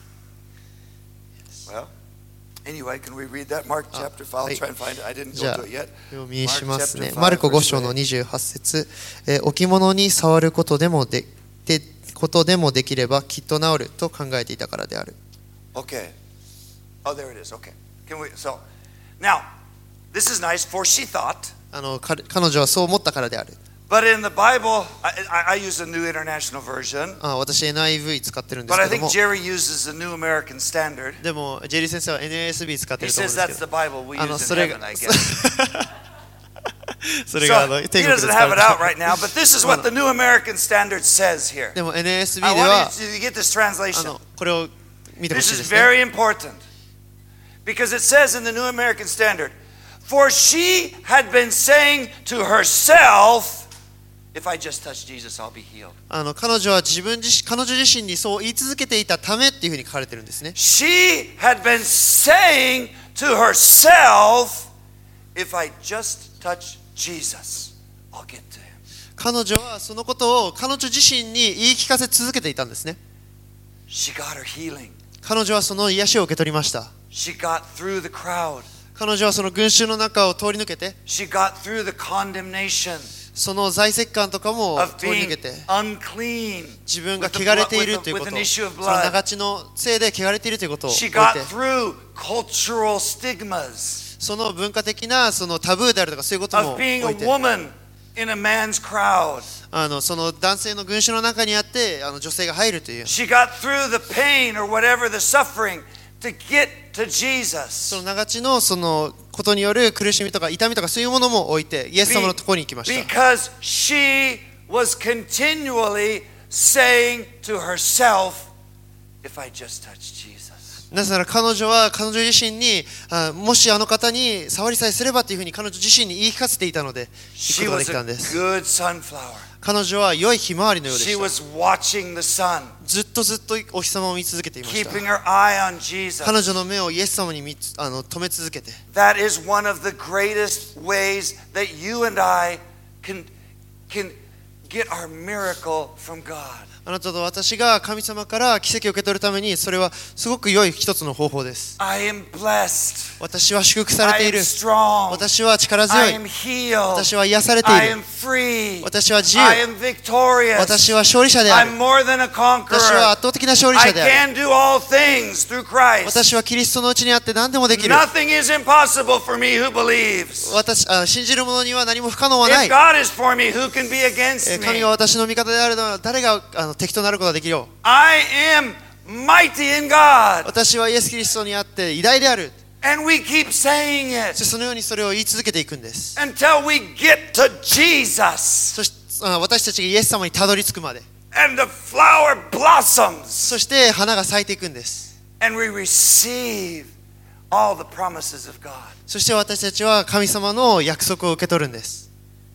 Speaker 1: Well, anyway, can we read that? Mark chapter five. I'll try and find it. I didn't
Speaker 2: じ
Speaker 1: go
Speaker 2: ゃあ
Speaker 1: to it yet.
Speaker 2: 読みしますね。
Speaker 1: Mark chapter five,
Speaker 2: マルコご
Speaker 1: verse
Speaker 2: 章の
Speaker 1: twenty-eight.
Speaker 2: にじゅうはち節、えー置物に触ることでもででことでもできればきっと治ると考えていたからである。
Speaker 1: Okay. Oh, there it is. Okay. Can we? So, now, this is nice. For she thought,
Speaker 2: あの彼彼女はそう思ったからである。
Speaker 1: but in the Bible, I, I, I use a New International Version,
Speaker 2: あ私 エヌアイブイ 使ってるんで
Speaker 1: but
Speaker 2: す
Speaker 1: I
Speaker 2: けど
Speaker 1: think
Speaker 2: も、
Speaker 1: Jerry uses the New American Standard.
Speaker 2: でもジェリー先生は エヌエスビー 使って
Speaker 1: He
Speaker 2: ると思
Speaker 1: says
Speaker 2: うんです
Speaker 1: that's
Speaker 2: け
Speaker 1: the
Speaker 2: ど、
Speaker 1: Bible we
Speaker 2: あの
Speaker 1: use
Speaker 2: そ
Speaker 1: in
Speaker 2: れが
Speaker 1: heaven, I guess.
Speaker 2: それがあ
Speaker 1: So
Speaker 2: の
Speaker 1: he
Speaker 2: 天国で
Speaker 1: doesn't
Speaker 2: 使
Speaker 1: have
Speaker 2: わ
Speaker 1: it
Speaker 2: れ
Speaker 1: out
Speaker 2: て
Speaker 1: right now, but this is what the New American Standard says here.
Speaker 2: でも エヌエスビー
Speaker 1: I
Speaker 2: では
Speaker 1: want you to get this
Speaker 2: あ
Speaker 1: translation.
Speaker 2: のこれを見てほ
Speaker 1: This
Speaker 2: しい
Speaker 1: is
Speaker 2: ですね。
Speaker 1: very important because it says in the New American Standard, for she had been saying to herself, if I just touch Jesus, I'll be healed.
Speaker 2: あの彼女は自分自身彼女自身にそう言い続けていたためっていうふうに書かれてるんですね。
Speaker 1: She had been saying to herself, if I just touch Jesus, I'll get to him.
Speaker 2: 彼女はそのことを彼女自身に言い聞かせ続けていたんですね。
Speaker 1: She got her healing.
Speaker 2: 彼女はその癒しを受け取りました。
Speaker 1: She got through the crowd.
Speaker 2: 彼女はその群衆の中を通り抜けて、
Speaker 1: She got through the condemnation
Speaker 2: その財石感とかも
Speaker 1: of
Speaker 2: 通り抜
Speaker 1: being
Speaker 2: けて、
Speaker 1: unclean
Speaker 2: 自分が
Speaker 1: with, the
Speaker 2: 汚れ
Speaker 1: blood,
Speaker 2: ている
Speaker 1: with,
Speaker 2: という
Speaker 1: the,
Speaker 2: こ
Speaker 1: with
Speaker 2: と、
Speaker 1: an issue of
Speaker 2: その
Speaker 1: blood.
Speaker 2: 長血のせいで汚れているということを
Speaker 1: She
Speaker 2: 置い
Speaker 1: got
Speaker 2: て、
Speaker 1: through cultural stigmas
Speaker 2: その文化的なそのタブーであるとかそういうことも
Speaker 1: of being
Speaker 2: 置
Speaker 1: a
Speaker 2: いて、
Speaker 1: woman in a man's crowd.
Speaker 2: あのその男性の群衆の中にあってあの女性が入るという、
Speaker 1: She got through the pain or whatever the suffering to get to Jesus.
Speaker 2: その長血のそのことによる苦しみとか痛みとかそういうものも置いてイエス様のところに行きました。
Speaker 1: Because she was continually saying to herself, if I just touch Jesus.
Speaker 2: なぜなら彼女は彼女自身にあもしあの方に触りさえすればというふうに彼女自身に言い聞かせていたので行く
Speaker 1: She
Speaker 2: ことがで
Speaker 1: was
Speaker 2: きたんで
Speaker 1: a
Speaker 2: す。
Speaker 1: good sunflower.
Speaker 2: 彼女は良いひまわりのようで
Speaker 1: She
Speaker 2: した。
Speaker 1: was watching the sun,
Speaker 2: ずっとずっとお日様を見続けていました。
Speaker 1: keeping her eye on Jesus.
Speaker 2: 彼女の目をイエス様に見つあの止め続けて、
Speaker 1: That is one of the greatest ways that you and I can, can get our miracle from God.
Speaker 2: あなたと私が神様から奇跡を受け取るためにそれはすごく良い一つの方法です。
Speaker 1: I am blessed.
Speaker 2: 私は祝福され
Speaker 1: I
Speaker 2: てい
Speaker 1: am
Speaker 2: る。
Speaker 1: strong.
Speaker 2: 私は力強
Speaker 1: I
Speaker 2: い。
Speaker 1: am healed.
Speaker 2: 私は癒されてい
Speaker 1: I
Speaker 2: る
Speaker 1: am。free.
Speaker 2: 私は自由。
Speaker 1: I am victorious.
Speaker 2: 私は勝利者である。
Speaker 1: I'm more than a
Speaker 2: 私は
Speaker 1: conqueror.
Speaker 2: 圧倒的な勝利
Speaker 1: I
Speaker 2: 者である。
Speaker 1: can do all things through Christ.
Speaker 2: 私はキリストのうちにあって何でもできる。
Speaker 1: Nothing is impossible for me who believes.
Speaker 2: 私あ信じる者には何も不可能はない
Speaker 1: If。God is for me, who can be
Speaker 2: え
Speaker 1: against
Speaker 2: ー神
Speaker 1: me?
Speaker 2: が私の味方であるなら誰があの敵となることができるよ。
Speaker 1: I am mighty in God.
Speaker 2: 私はイエス・キリストにあって偉大である。
Speaker 1: And we keep saying
Speaker 2: そ
Speaker 1: it
Speaker 2: してそのようにそれを言い続けていくんです。
Speaker 1: until we get to Jesus.
Speaker 2: そしてあ私たちがイエス様にたどり着くまで。
Speaker 1: And the flower blossoms.
Speaker 2: そして花が咲いていくんです。
Speaker 1: And we receive all the promises of God.
Speaker 2: そして私たちは神様の約束を受け取るんです。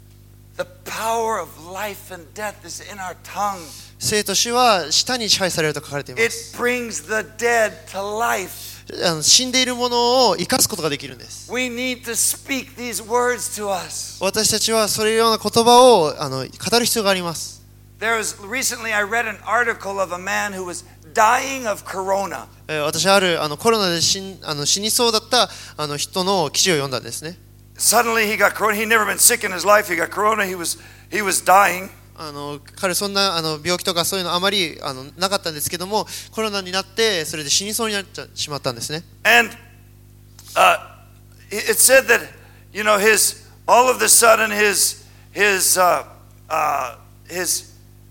Speaker 1: The power of life and death is in our tongue.
Speaker 2: 生と死は舌に支配されると書かれていま
Speaker 1: It
Speaker 2: す。
Speaker 1: brings the dead to life.
Speaker 2: あの死んでいるものを生かすことができるんです。
Speaker 1: We need to speak these words to us.
Speaker 2: 私たちはそれような言葉をあの語る必要があります。
Speaker 1: There was recently I read an article of a man who was dying of corona.
Speaker 2: 私はあるあのコロナで死んあの死にそうだったあの人の記事を読んだんですね。
Speaker 1: Suddenly he got corona. He'd never been sick in his life. He got corona. He was he was dying.
Speaker 2: あの彼そんなあの病気とかそういうのあまりあのなかったんですけども、コロナになってそれで死にそうになってしまったんですね。
Speaker 1: And uh, it said that you know his all of a sudden his his uh, uh, his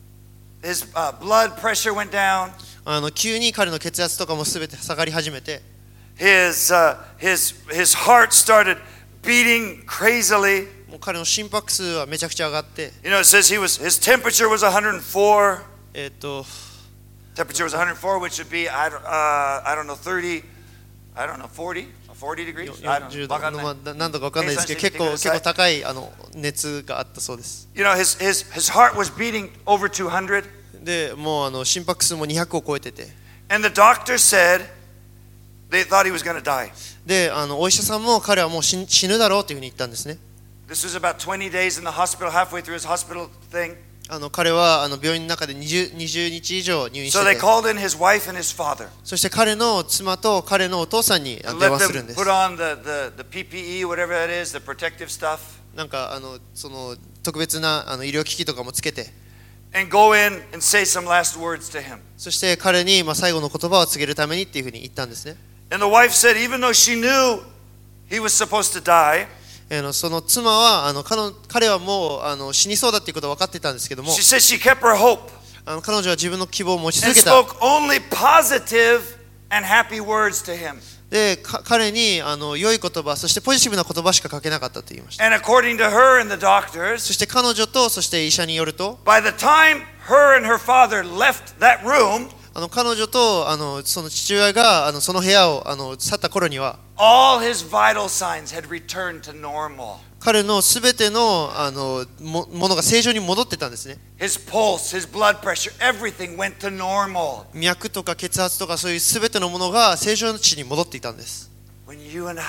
Speaker 1: his uh, blood pressure went down.
Speaker 2: あの急に彼の血圧とかもすべて下がり始めて、
Speaker 1: His uh, his his heart started beating crazily.
Speaker 2: もう彼の心拍数はめちゃくちゃ上がって、
Speaker 1: You know, it says he was his temperature was one hundred four.
Speaker 2: えっと
Speaker 1: Temperature was one hundred four, which would be I don't uh, I don't know thirty, I don't know forty, forty degrees. I don't know.
Speaker 2: 度のまあ何度かわかんないですけど、結構結構高いあの熱があったそうです。
Speaker 1: You know, his his his heart was beating over two hundred.
Speaker 2: で、もうあの心拍数もにひゃくを超えてて、
Speaker 1: And the doctor said they thought he was going to die.
Speaker 2: で、あのお医者さんも彼はもう死死ぬだろうというふうに言ったんですね。
Speaker 1: This was about twenty days in the hospital, halfway through his hospital thing.
Speaker 2: あの彼はあの病院の中で 20, 20日以上入院し
Speaker 1: So
Speaker 2: て
Speaker 1: they
Speaker 2: て、
Speaker 1: called in his wife and his father.
Speaker 2: そして彼の妻と彼のお父さんにあの
Speaker 1: And
Speaker 2: 電
Speaker 1: let
Speaker 2: 話するん
Speaker 1: them
Speaker 2: です。
Speaker 1: put on the, the, the P P E, whatever that is, the protective stuff,
Speaker 2: なんかあのその特別なあの医療機器とかもつけて、
Speaker 1: and go in and say some last words to him.
Speaker 2: そして彼にまあ最後の言葉を告げるためにっていうふうに言ったんですね。
Speaker 1: And the wife said, even though she knew he was supposed to die,
Speaker 2: あのその妻はあの 彼, 彼はもうあの死にそうだっていうことは分かってたんですけども、
Speaker 1: she said she kept her hope
Speaker 2: あの彼女は自分の希望を持ち
Speaker 1: and
Speaker 2: 続けた。
Speaker 1: spoke only positive and happy words to him.
Speaker 2: で、か彼にあの良い言葉、そしてポジティブな言葉しかかけなかったと言いました。
Speaker 1: And according to her and the
Speaker 2: そ
Speaker 1: doctors,
Speaker 2: して彼女とそして医者によると、
Speaker 1: by the time her and her father left that room,
Speaker 2: あの彼女とあのその父親があのその部屋をあの去った頃には、
Speaker 1: all his vital signs had returned to normal.
Speaker 2: 彼のすべてのあの も, ものが正常に戻ってたんですね。
Speaker 1: His pulse, his blood pressure, everything went to normal.
Speaker 2: 脈とか血圧とかそういうすべてのものが正常値に戻っていたんです。
Speaker 1: When you and I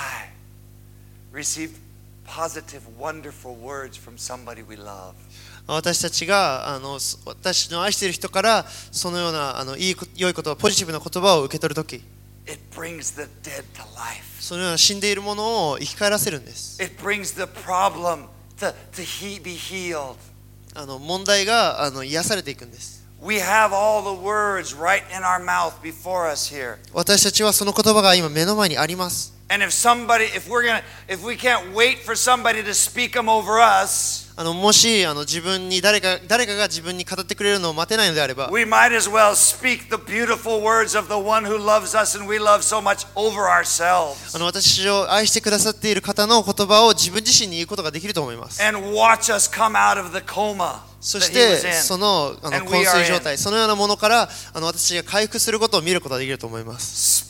Speaker 1: receive positive, wonderful words from somebody we love,
Speaker 2: 私たちがあの私の愛している人からそのようなあのいい良い言葉、ポジティブな言葉を受け取るとき、
Speaker 1: it brings the dead to life.
Speaker 2: そのような死んでいるものを生き返らせるんです。
Speaker 1: It brings the problem to, to he, be healed.
Speaker 2: あの問題があの癒されていくんです。
Speaker 1: We have all the words right in our mouth before us here.
Speaker 2: 私たちはその言葉が今目の前にあります。
Speaker 1: And if somebody, if we're gonna, if we can't wait for somebody to speak them over us,
Speaker 2: あのもしあの自分に誰か誰かが自分に語ってくれるのを待てないのであれば、
Speaker 1: we might as well speak the beautiful words of the one who loves us and we love so much over ourselves.
Speaker 2: あの私たちを愛してくださっている方の言葉を自分自身に言うことができると思います。
Speaker 1: And watch us come out of the coma
Speaker 2: そ
Speaker 1: that
Speaker 2: し
Speaker 1: he
Speaker 2: て
Speaker 1: was in.
Speaker 2: そのあの
Speaker 1: And
Speaker 2: 昏
Speaker 1: we are
Speaker 2: 睡
Speaker 1: in.
Speaker 2: 状態、そのようなものからあの私が回復することを見ることができると思います。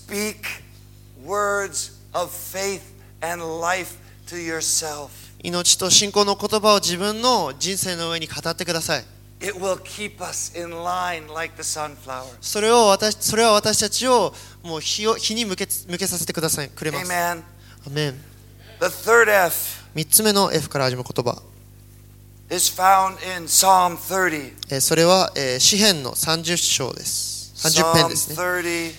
Speaker 1: Speak words of faith and life to yourself.
Speaker 2: 命と信仰の言葉を自分の人生の上に語ってください。
Speaker 1: It will keep us in line like the sunflower.
Speaker 2: それを私それは私たちをもう日を日に向け向けさせてくださいくれます。
Speaker 1: Amen.
Speaker 2: アメン。
Speaker 1: The third F
Speaker 2: 三つ目の F から始まる言葉、
Speaker 1: is found in Psalm thirty.
Speaker 2: えーそれは、えー詩編のさんじゅっ章です。さんじゅっ編
Speaker 1: Psalm
Speaker 2: ですね。
Speaker 1: thirty,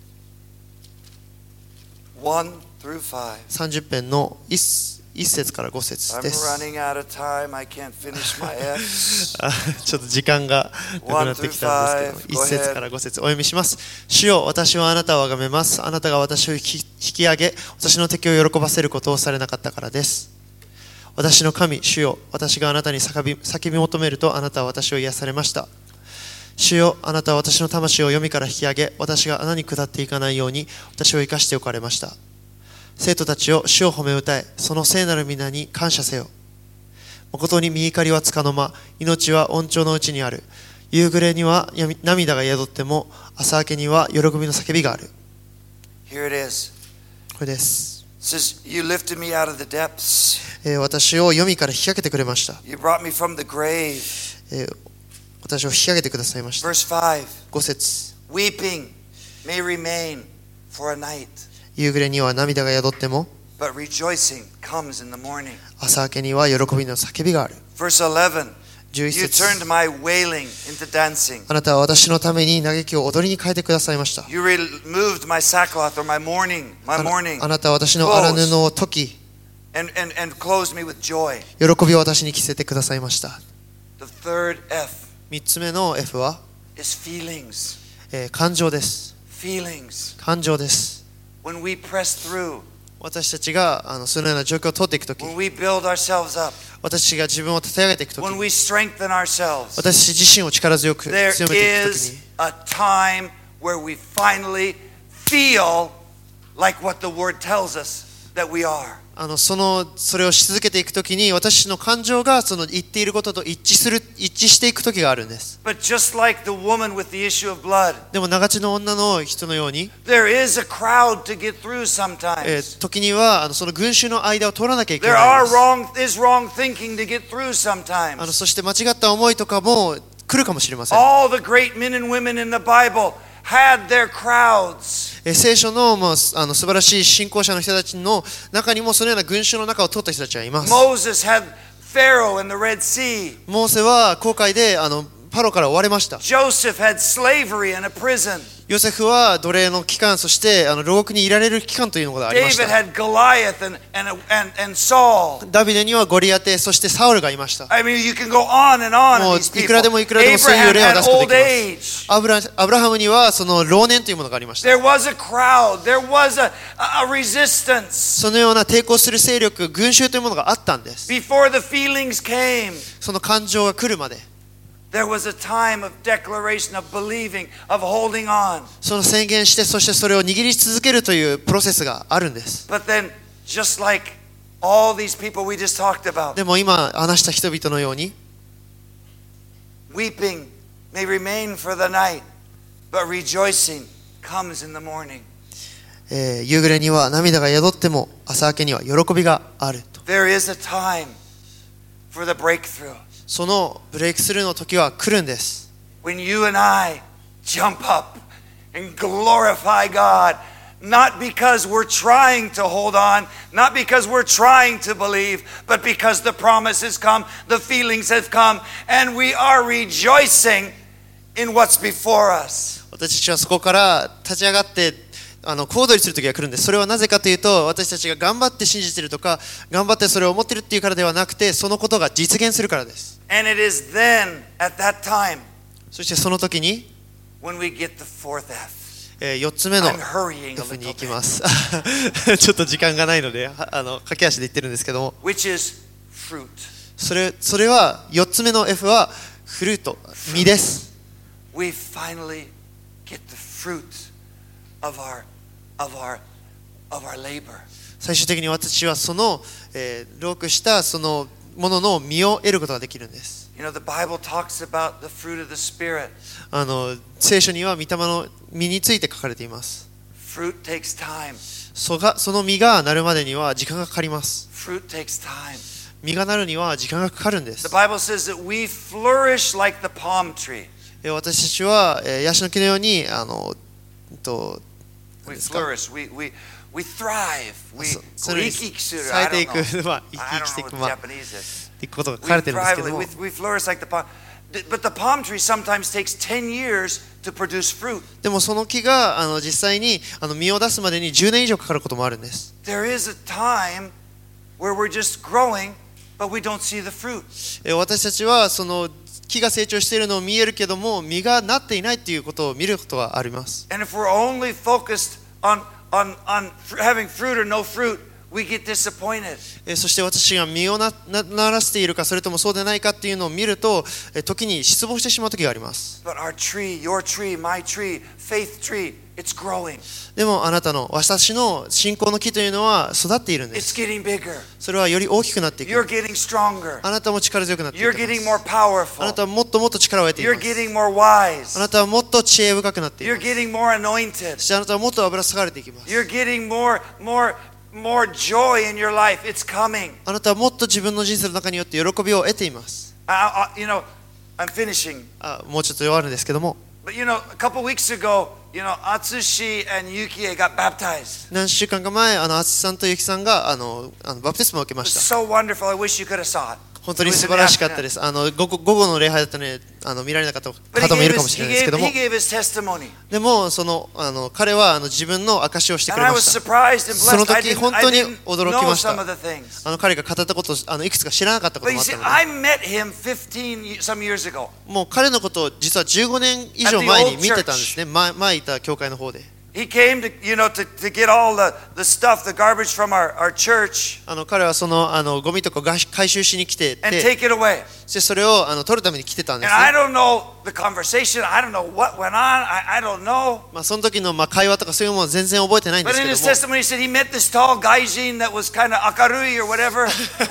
Speaker 1: one through five.
Speaker 2: さんじゅっ編の 1, 1節からご節
Speaker 1: I'm
Speaker 2: です。
Speaker 1: running out of time. I can't finish my F's.
Speaker 2: あちょっと時間がなくなってきたんですけど、いち節からご節お読みします。主よ、私はあなたを崇めます。あなたが私を引き、引き上げ、私の敵を喜ばせることをされなかったからです。私の神、主よ、私があなたに叫び、叫び求めると、あなたは私を癒されました。主よ、あなたは私の魂を闇から引き上げ、私が穴に下っていかないように、私を生かしておかれました。生徒たちを主を褒め歌え、その聖なる皆に感謝せよ。誠に御怒りはつかの間、命は恩寵のうちにある。夕暮れには涙が宿っても、朝明けには喜びの叫びがある。
Speaker 1: Here it is.
Speaker 2: これです。
Speaker 1: It says, You lifted me out of the depths.
Speaker 2: えー私を黄泉から引き上げてくれました。
Speaker 1: You brought me from the grave.
Speaker 2: えー私を引き上げてくださいました。
Speaker 1: Verse five.
Speaker 2: ご節
Speaker 1: Weeping may remain for a night.
Speaker 2: 夕暮れには涙が宿っても、
Speaker 1: but rejoicing comes in the morning.
Speaker 2: 朝明けには喜びの叫びがある。
Speaker 1: Verse eleven,
Speaker 2: じゅういち
Speaker 1: you
Speaker 2: 節
Speaker 1: turned my wailing into dancing.
Speaker 2: あなたは私のために嘆きを踊りに変えてくださいました。
Speaker 1: You removed my sackcloth or my mourning, my
Speaker 2: あな
Speaker 1: mourning,
Speaker 2: あなたは私の荒布を解き、
Speaker 1: and, and, and clothed me with joy.
Speaker 2: 喜びを私に着せてくださいました。
Speaker 1: The third F
Speaker 2: 三つ目の F は、
Speaker 1: is feelings.
Speaker 2: えー感情です。
Speaker 1: Feelings.
Speaker 2: 感情です。
Speaker 1: When we press through,
Speaker 2: 私たちがあのそのような状況を通っていくとき、
Speaker 1: when we build ourselves up,
Speaker 2: 私が自分を立て上げていくとき、
Speaker 1: when we strengthen ourselves,
Speaker 2: 私自身を力強く
Speaker 1: there
Speaker 2: 強めていくとき
Speaker 1: is
Speaker 2: に、
Speaker 1: a time where we finally feel like what the word tells us that we are.
Speaker 2: あのそのそれをし続けていくときに、私の感情がその言っていることと一致する一致していくときがあるんです。
Speaker 1: But just like the woman with the issue of blood,
Speaker 2: でも長地の女の人のように、
Speaker 1: there is a crowd to get through
Speaker 2: え
Speaker 1: sometimes.
Speaker 2: ー時にはあのその群衆の間を通らなきゃいけ
Speaker 1: There
Speaker 2: ないん
Speaker 1: are
Speaker 2: です。
Speaker 1: wrong is wrong thinking to get through
Speaker 2: あの
Speaker 1: sometimes.
Speaker 2: そして間違った思いとかも来るかもしれません。
Speaker 1: All the great men and women in the Bible had their crowds.
Speaker 2: えー聖書の、まあ、あの素晴らしい信仰者の人たちの中にもそのような群衆の中を通った人たちはいます。
Speaker 1: Moses had Pharaoh in the Red Sea.
Speaker 2: モーセは航海であのパロから追われました。
Speaker 1: Joseph had slavery in a prison.
Speaker 2: ヨセフは奴隷の期間、そしてあの牢獄にいられる期間というのがありまし
Speaker 1: David
Speaker 2: た。
Speaker 1: had Goliath and, and, and, and Saul.
Speaker 2: ダビデにはゴリアテ、そしてサウルがいました。
Speaker 1: I mean, you can go on and on.
Speaker 2: もう
Speaker 1: in these
Speaker 2: い
Speaker 1: people.
Speaker 2: くらでもいくらでもそういう
Speaker 1: Abraham
Speaker 2: 例を
Speaker 1: had
Speaker 2: 出すこと
Speaker 1: old
Speaker 2: ができます。
Speaker 1: age.
Speaker 2: アブラアブラハムにはその老年というものがありました。
Speaker 1: There was a crowd. There was a, a resistance.
Speaker 2: そのような抵抗する勢力、群衆というものがあったんです。
Speaker 1: Before the feelings came,
Speaker 2: その感情が来るまで、
Speaker 1: there was a time of declaration, of believing, of holding on.
Speaker 2: その宣言して、そしてそれを握り続けるというプロセスがあるんです。
Speaker 1: But then, just like all these people we just talked about,
Speaker 2: でも今話した人々のように、
Speaker 1: weeping may remain for the night, but rejoicing comes in the morning.
Speaker 2: えー夕暮れには涙が宿っても朝明けには喜びがあると。
Speaker 1: There is a time for the breakthrough.
Speaker 2: そのブレイクスルーの時は来るんです。
Speaker 1: When you and I jump up and glorify God, not because we're trying to hold on, not because we're trying to believe, but because the promise has come, the feelings have come, and we are rejoicing in what's before us.
Speaker 2: 私たちはそこから立ち上がってあの小躍りする時が来るんです。それはなぜかというと、私たちが頑張って信じているとか頑張ってそれを思っているっていうからではなくて、そのことが実現するからです。
Speaker 1: And it is then, at that time,
Speaker 2: そしてその時に、
Speaker 1: when we get the fourth F.
Speaker 2: えー、よっつ目の
Speaker 1: I'm hurrying a
Speaker 2: F に
Speaker 1: little
Speaker 2: 行き
Speaker 1: bit.
Speaker 2: ますちょっと時間がないのではあの駆け足で言ってるんですけども、
Speaker 1: Which is fruit.
Speaker 2: それそれはよっつ目の F はフルート、実です。
Speaker 1: We finally get the fruit of our, of our, of our labor.
Speaker 2: 最終的に私はその、えー、労苦したそのものの実を得ることができるんです。
Speaker 1: You know, the Bible talks about the fruit of the Spirit.
Speaker 2: あの聖書には御霊の実について書かれています。
Speaker 1: Fruit takes time.
Speaker 2: そがその実がなるまでには時間がかかります。
Speaker 1: Fruit takes time.
Speaker 2: 実がなるには時間がかかるんで
Speaker 1: The
Speaker 2: す。
Speaker 1: Bible says that we flourish like the palm tree.
Speaker 2: えー私たちは、えー、ヤシの木のようにあの、えっと、
Speaker 1: We
Speaker 2: 何ですか
Speaker 1: flourish. We, we, we thrive. We
Speaker 2: そそ
Speaker 1: こう
Speaker 2: れに
Speaker 1: 生き生きする。
Speaker 2: 咲い
Speaker 1: I
Speaker 2: て
Speaker 1: don't
Speaker 2: いく
Speaker 1: know.
Speaker 2: まあ生き
Speaker 1: I
Speaker 2: 生きしてい
Speaker 1: don't
Speaker 2: く
Speaker 1: know
Speaker 2: ま
Speaker 1: what
Speaker 2: あ
Speaker 1: Japanese is.
Speaker 2: っていうことが書
Speaker 1: We
Speaker 2: かれてるんですけ
Speaker 1: thrive.
Speaker 2: ども、
Speaker 1: We, we flourish like the palm. But the palm tree sometimes takes ten years to produce fruit.
Speaker 2: でもその木があの実際にあの実を出すまでにじゅうねん以上かかることもあるんです。
Speaker 1: There is a time where we're just growing, but we don't see the fruit.
Speaker 2: えー私たちはその木が成長しているのを見えるけども、実がなっていないということを見ることはあります。
Speaker 1: And if we're only focused on, on, on having fruit or no fruit, we get disappointed.
Speaker 2: えーそして私が実をななならせているかそれともそうでないかっていうのを見ると、えー時に失望してしまう時があります。
Speaker 1: But our tree, your tree, my tree, faith tree, it's growing.
Speaker 2: でもあなたの私の信仰の木というのは育っているんで
Speaker 1: It's
Speaker 2: す。
Speaker 1: getting bigger.
Speaker 2: それはより大きくなってい
Speaker 1: You're
Speaker 2: く。
Speaker 1: getting stronger.
Speaker 2: あなたも力強くなっていき
Speaker 1: You're
Speaker 2: ま
Speaker 1: getting
Speaker 2: す。
Speaker 1: more
Speaker 2: あ
Speaker 1: powerful.
Speaker 2: なたはもっともっと力を得てい
Speaker 1: You're
Speaker 2: ます。
Speaker 1: getting more
Speaker 2: あ
Speaker 1: wise.
Speaker 2: なたはもっと知恵深くなっていま
Speaker 1: You're
Speaker 2: す。
Speaker 1: getting more anointed.
Speaker 2: そしてあなたはもっと油注がれていきます。
Speaker 1: You're getting more, more, more joy in your life. It's coming.
Speaker 2: あなたはもっと自分の人生の中によって喜びを得ています。
Speaker 1: I, I, you know, I'm finishing.
Speaker 2: あもうちょっと弱るんですけども、
Speaker 1: But you know, a couple weeks ago, you know, Atsushi and Yukie got baptized.
Speaker 2: 何週間か前、あの、あつしさんとゆきさんが、あの、あのバプテスマを受けま
Speaker 1: It
Speaker 2: し
Speaker 1: was
Speaker 2: た。
Speaker 1: so wonderful. I wish you could have saw it.
Speaker 2: 本当に素晴らしかったです。あの、午後、午後の礼拝だったので、あの、見られなかった
Speaker 1: But he
Speaker 2: 方もい
Speaker 1: gave
Speaker 2: るか
Speaker 1: his,
Speaker 2: もし
Speaker 1: he
Speaker 2: れないですけ
Speaker 1: gave,
Speaker 2: ども
Speaker 1: he、gave his testimony.
Speaker 2: でも、その、あの、彼は、あの、自分の証しをしてく
Speaker 1: And
Speaker 2: れ
Speaker 1: I
Speaker 2: ま
Speaker 1: was
Speaker 2: した。
Speaker 1: surprised and
Speaker 2: その
Speaker 1: blessed. I
Speaker 2: 時、
Speaker 1: didn't,
Speaker 2: 本
Speaker 1: I
Speaker 2: 当に
Speaker 1: didn't
Speaker 2: 驚き
Speaker 1: know
Speaker 2: まし
Speaker 1: some
Speaker 2: た。
Speaker 1: of the things.
Speaker 2: あの、彼が語ったことを、あの、いくつか知らなかったこ
Speaker 1: But
Speaker 2: とも
Speaker 1: you
Speaker 2: あっ
Speaker 1: see,
Speaker 2: たの
Speaker 1: I
Speaker 2: で、
Speaker 1: met him fifteen ye- some years ago.
Speaker 2: もう彼のことを実はじゅうごねん以上前に見てたんですね。前、前いた教会の方で。
Speaker 1: He came to, you know, to, to get all the, the stuff, the garbage from our, our church
Speaker 2: あの、彼はその、あの、ゴミとかが回収しに来て
Speaker 1: and
Speaker 2: て、
Speaker 1: take it away.
Speaker 2: そしてそれを、あの、取るために来てたんで
Speaker 1: And
Speaker 2: す
Speaker 1: I
Speaker 2: ね。
Speaker 1: don't know the conversation. I don't know what went on. I, I don't know.
Speaker 2: まあ、その時の、まあ、会話とかそういうものは全然覚えてないんで
Speaker 1: But
Speaker 2: す
Speaker 1: in
Speaker 2: け
Speaker 1: his
Speaker 2: ども。
Speaker 1: testimony, he said he met this tall gaijin that was kind of akarui or whatever.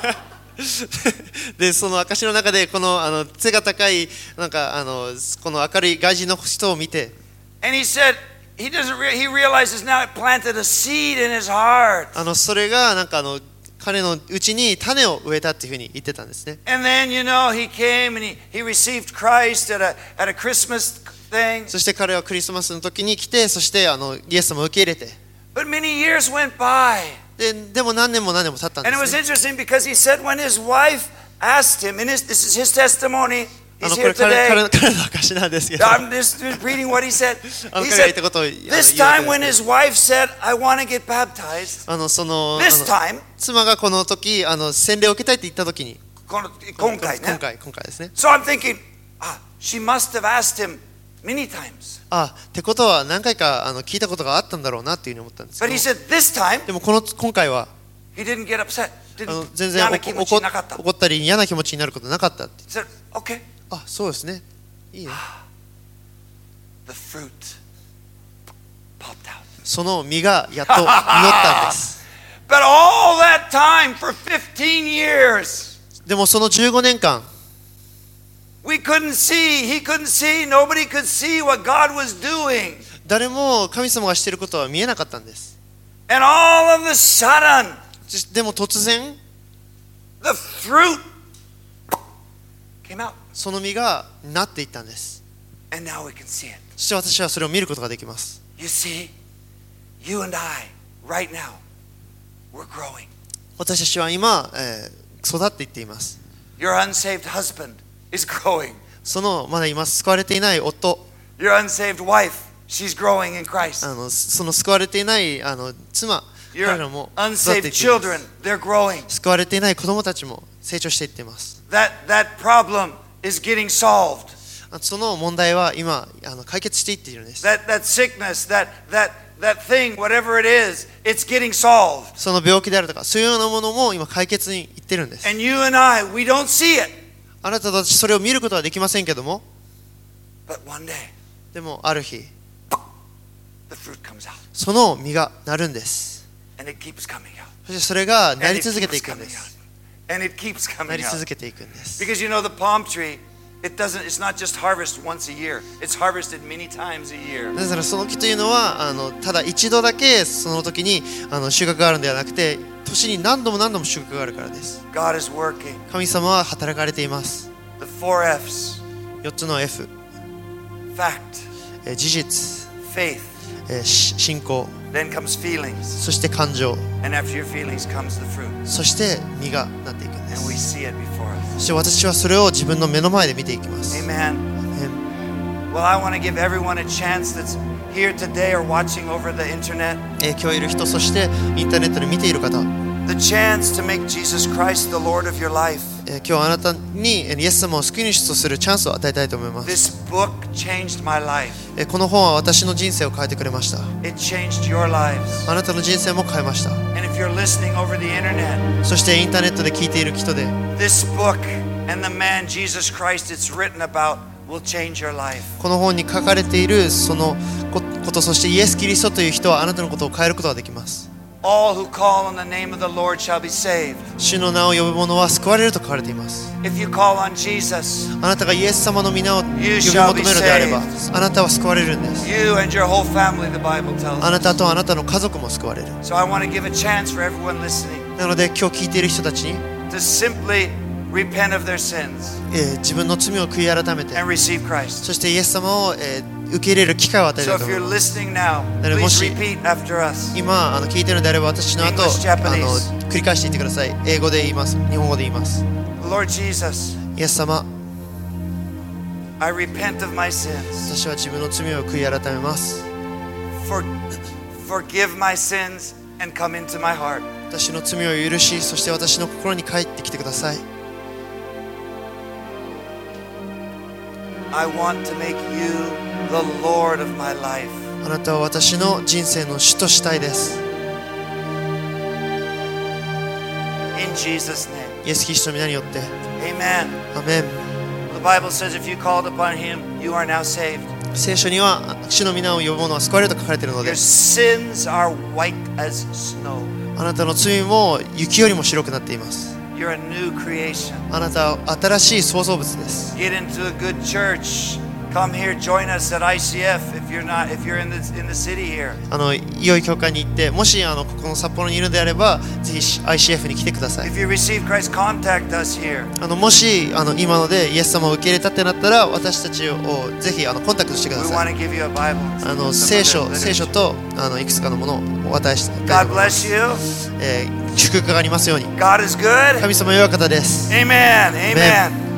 Speaker 2: で、その証の中で、この、あの、背が高い、なんか、あの、この明るい外人の人を見て、
Speaker 1: And he said he doesn't. Re- he realizes now it planted a seed in his heart.
Speaker 2: あの、それが、なんか、あの、彼のうちに種を植えたっていうふうに言ってたんですね。
Speaker 1: And then you know he came and he, he received Christ at a at a Christmas thing.
Speaker 2: そして彼はクリスマスの時に来て、そしてあのイエス様を受け入れて、
Speaker 1: But many years went by.
Speaker 2: ででも何年も何年も経ったんで
Speaker 1: And it
Speaker 2: す
Speaker 1: was
Speaker 2: ね。
Speaker 1: interesting because he said when his wife asked him, and his, this is his testimony,
Speaker 2: あ
Speaker 1: he's
Speaker 2: のこ
Speaker 1: here
Speaker 2: れ彼彼
Speaker 1: today.
Speaker 2: の彼の証なんですけど、
Speaker 1: I'm just reading what he said.
Speaker 2: あの
Speaker 1: He
Speaker 2: 彼が言っ
Speaker 1: said,
Speaker 2: たことをあの
Speaker 1: this
Speaker 2: 言うわ
Speaker 1: time
Speaker 2: け
Speaker 1: when
Speaker 2: です
Speaker 1: his wife said, I want to get baptized,
Speaker 2: あのそのあ
Speaker 1: this
Speaker 2: の
Speaker 1: time,
Speaker 2: 妻がこの時あの洗礼を受けたいって言った時に、
Speaker 1: この今回ね。
Speaker 2: 今回今回ですね。
Speaker 1: So I'm thinking, ah, she must have asked him many times.
Speaker 2: あ、ってことは何回かあの聞いたことがあったんだろうなっていうふうに思ったんですけ
Speaker 1: But
Speaker 2: ど
Speaker 1: he said this time,
Speaker 2: でもこの今回は
Speaker 1: he didn't get upset.
Speaker 2: あの
Speaker 1: Didn't
Speaker 2: 全然
Speaker 1: 嫌な気持ち
Speaker 2: 怒
Speaker 1: なかった。
Speaker 2: 怒ったり嫌な気持ちになることなかったって。
Speaker 1: He said, okay,
Speaker 2: あ、そうですね。いいね。
Speaker 1: the fruit popped out.
Speaker 2: その実がやっと実ったんです。
Speaker 1: But all that time for fifteen years,
Speaker 2: でもそのじゅうごねんかん
Speaker 1: we couldn't see, he couldn't see, nobody could see what God was doing.
Speaker 2: 誰も神様がしていることは見えなかったんです。
Speaker 1: And all of a sudden,
Speaker 2: でも突然
Speaker 1: the fruit came out.
Speaker 2: その実がなっていったんです。
Speaker 1: And now we can see it.
Speaker 2: そして私はそれを見ることができます。
Speaker 1: You see, you and I, right now, we're growing.
Speaker 2: 私たちは今、えー育っていっています。
Speaker 1: Your unsaved husband is growing.
Speaker 2: そのまだ今救われていない夫、
Speaker 1: Your unsaved wife, she's growing in Christ.
Speaker 2: あのその救われていないあの妻、彼
Speaker 1: Your
Speaker 2: らも育ってい
Speaker 1: unsaved
Speaker 2: っています。
Speaker 1: children, they're growing.
Speaker 2: 救われていない子供たちも成長していっています。
Speaker 1: That that problem is getting solved.
Speaker 2: その問題は今あの解決していっているんです。
Speaker 1: That that sickness, that that that thing, whatever it is, it's getting solved.
Speaker 2: その病気であるとかそういうようなものも今解決にいってるんです。
Speaker 1: And you and I, we don't see it.
Speaker 2: あなたたちそれを見ることはできませんけども、
Speaker 1: But one day,
Speaker 2: でもある日
Speaker 1: the fruit comes out.
Speaker 2: その実がなるんです。
Speaker 1: And it keeps coming out.
Speaker 2: そしてそれが
Speaker 1: And
Speaker 2: な
Speaker 1: it
Speaker 2: り続けて
Speaker 1: keeps
Speaker 2: いくん
Speaker 1: coming
Speaker 2: で
Speaker 1: out.
Speaker 2: す。
Speaker 1: And it keeps
Speaker 2: な
Speaker 1: coming
Speaker 2: り
Speaker 1: out.
Speaker 2: 続けていくんです
Speaker 1: Because you know the palm tree, it doesn't it's not just harvested once a year. It's harvested many times a year.
Speaker 2: なぜならその木というのはあのただ一度だけその時にあの収穫があるのではなくて、年に何度も何度も収穫があるからです。
Speaker 1: God is working.
Speaker 2: 神様は働かれています。
Speaker 1: The four F's.
Speaker 2: よっつの F、
Speaker 1: Fact,
Speaker 2: えー事実、
Speaker 1: faith,
Speaker 2: えーし信仰、
Speaker 1: then comes feelings.
Speaker 2: そして感情、
Speaker 1: And after your feelings comes the fruit.
Speaker 2: そして実がなっていくんで
Speaker 1: And we
Speaker 2: す。
Speaker 1: see it before us.
Speaker 2: そして私はそれを自分の目の前で見ていきます。
Speaker 1: Amen.
Speaker 2: え
Speaker 1: Well, I want to give everyone a chance that's here today or watching over the internet,
Speaker 2: ー今日いる人、そしてインターネットで見ている方、
Speaker 1: the chance to make Jesus Christ the Lord of your life.
Speaker 2: えー今日あなたにえーイエス様を救い主とするチャンスを与えたいと思います。
Speaker 1: This book changed my life.
Speaker 2: えーこの本は私の人生を変えてくれました。
Speaker 1: It changed your lives.
Speaker 2: あなたの人生も変えました。
Speaker 1: And if you're listening over the internet,
Speaker 2: そしてインターネットで聞いている人で、
Speaker 1: this book and the man Jesus Christ it's written about will change your life.
Speaker 2: この本に書かれているそのこと、そしてイエス・キリストという人はあなたのことを変えることができます。
Speaker 1: All who call on the name of the Lord shall be saved.
Speaker 2: 主の名を呼ぶ者は救われると書かれています。
Speaker 1: If you call on Jesus,
Speaker 2: あなたがイエス様の皆を呼び
Speaker 1: You
Speaker 2: 求
Speaker 1: shall
Speaker 2: め
Speaker 1: be
Speaker 2: るのであれば、
Speaker 1: saved.
Speaker 2: あなたは救われるんです。
Speaker 1: you and your whole family, the Bible tells
Speaker 2: あな
Speaker 1: us.
Speaker 2: たとあなたの家族も救われる。
Speaker 1: So I want to give a chance for everyone listening
Speaker 2: なので今日聞いている人たちに、
Speaker 1: to simply repent of their sins
Speaker 2: えー自分の罪を悔い改めて、
Speaker 1: and receive Christ.
Speaker 2: そしてイエス様を、えー受け入れる機会を与え
Speaker 1: So
Speaker 2: たい
Speaker 1: if
Speaker 2: と思い
Speaker 1: you're
Speaker 2: ます。
Speaker 1: listening now,
Speaker 2: なので、
Speaker 1: please
Speaker 2: もし
Speaker 1: repeat after us.
Speaker 2: 今あの聞いているのであれば、私の後
Speaker 1: English,
Speaker 2: あ
Speaker 1: Japanese.
Speaker 2: の繰り返していってください。英語で言います。日本語で言います。
Speaker 1: Lord Jesus,
Speaker 2: イエス様、
Speaker 1: I repent of my sins.
Speaker 2: 私は自分の罪を悔い改めます。
Speaker 1: For, forgive my sins and come into my heart.
Speaker 2: 私の罪を許し、そして私の心に帰ってきてください。
Speaker 1: I want to make you the Lord of my life.
Speaker 2: あなたは私の人生の主としたいです。
Speaker 1: In Jesus' name.
Speaker 2: イエス・キリストの皆によって。
Speaker 1: Amen.
Speaker 2: アメン。
Speaker 1: The Bible says if you called upon him, you are now saved.
Speaker 2: 聖書には主の皆を呼ぶ者は救われると書かれているの
Speaker 1: Your
Speaker 2: で、
Speaker 1: sins are white as snow.
Speaker 2: あなたの罪も雪よりも白くなっています。
Speaker 1: You're a new creation.
Speaker 2: あなたは新しい創造物です。
Speaker 1: Get into a good church. Come here, join us at I C F if you're not if you're in the in the city here.
Speaker 2: あの良い教会に行って、もしあのここの札幌にいるのであれば、ぜひ アイシーエフ に来てください。
Speaker 1: If you receive Christ, contact us here.
Speaker 2: あのもしあの今のでイエス様を受け入れたってなったら、私たちをぜひあのコンタクトしてくだ
Speaker 1: We
Speaker 2: さ
Speaker 1: want
Speaker 2: い。
Speaker 1: to give you a Bible.
Speaker 2: あの
Speaker 1: Some
Speaker 2: 聖
Speaker 1: other
Speaker 2: 書
Speaker 1: literature.
Speaker 2: 聖書とあのいくつかのものをお渡ししたいと
Speaker 1: God
Speaker 2: 思います。
Speaker 1: bless you.
Speaker 2: えー祝福がありますように。
Speaker 1: God is good.
Speaker 2: 神様良い方です。
Speaker 1: Amen. Amen.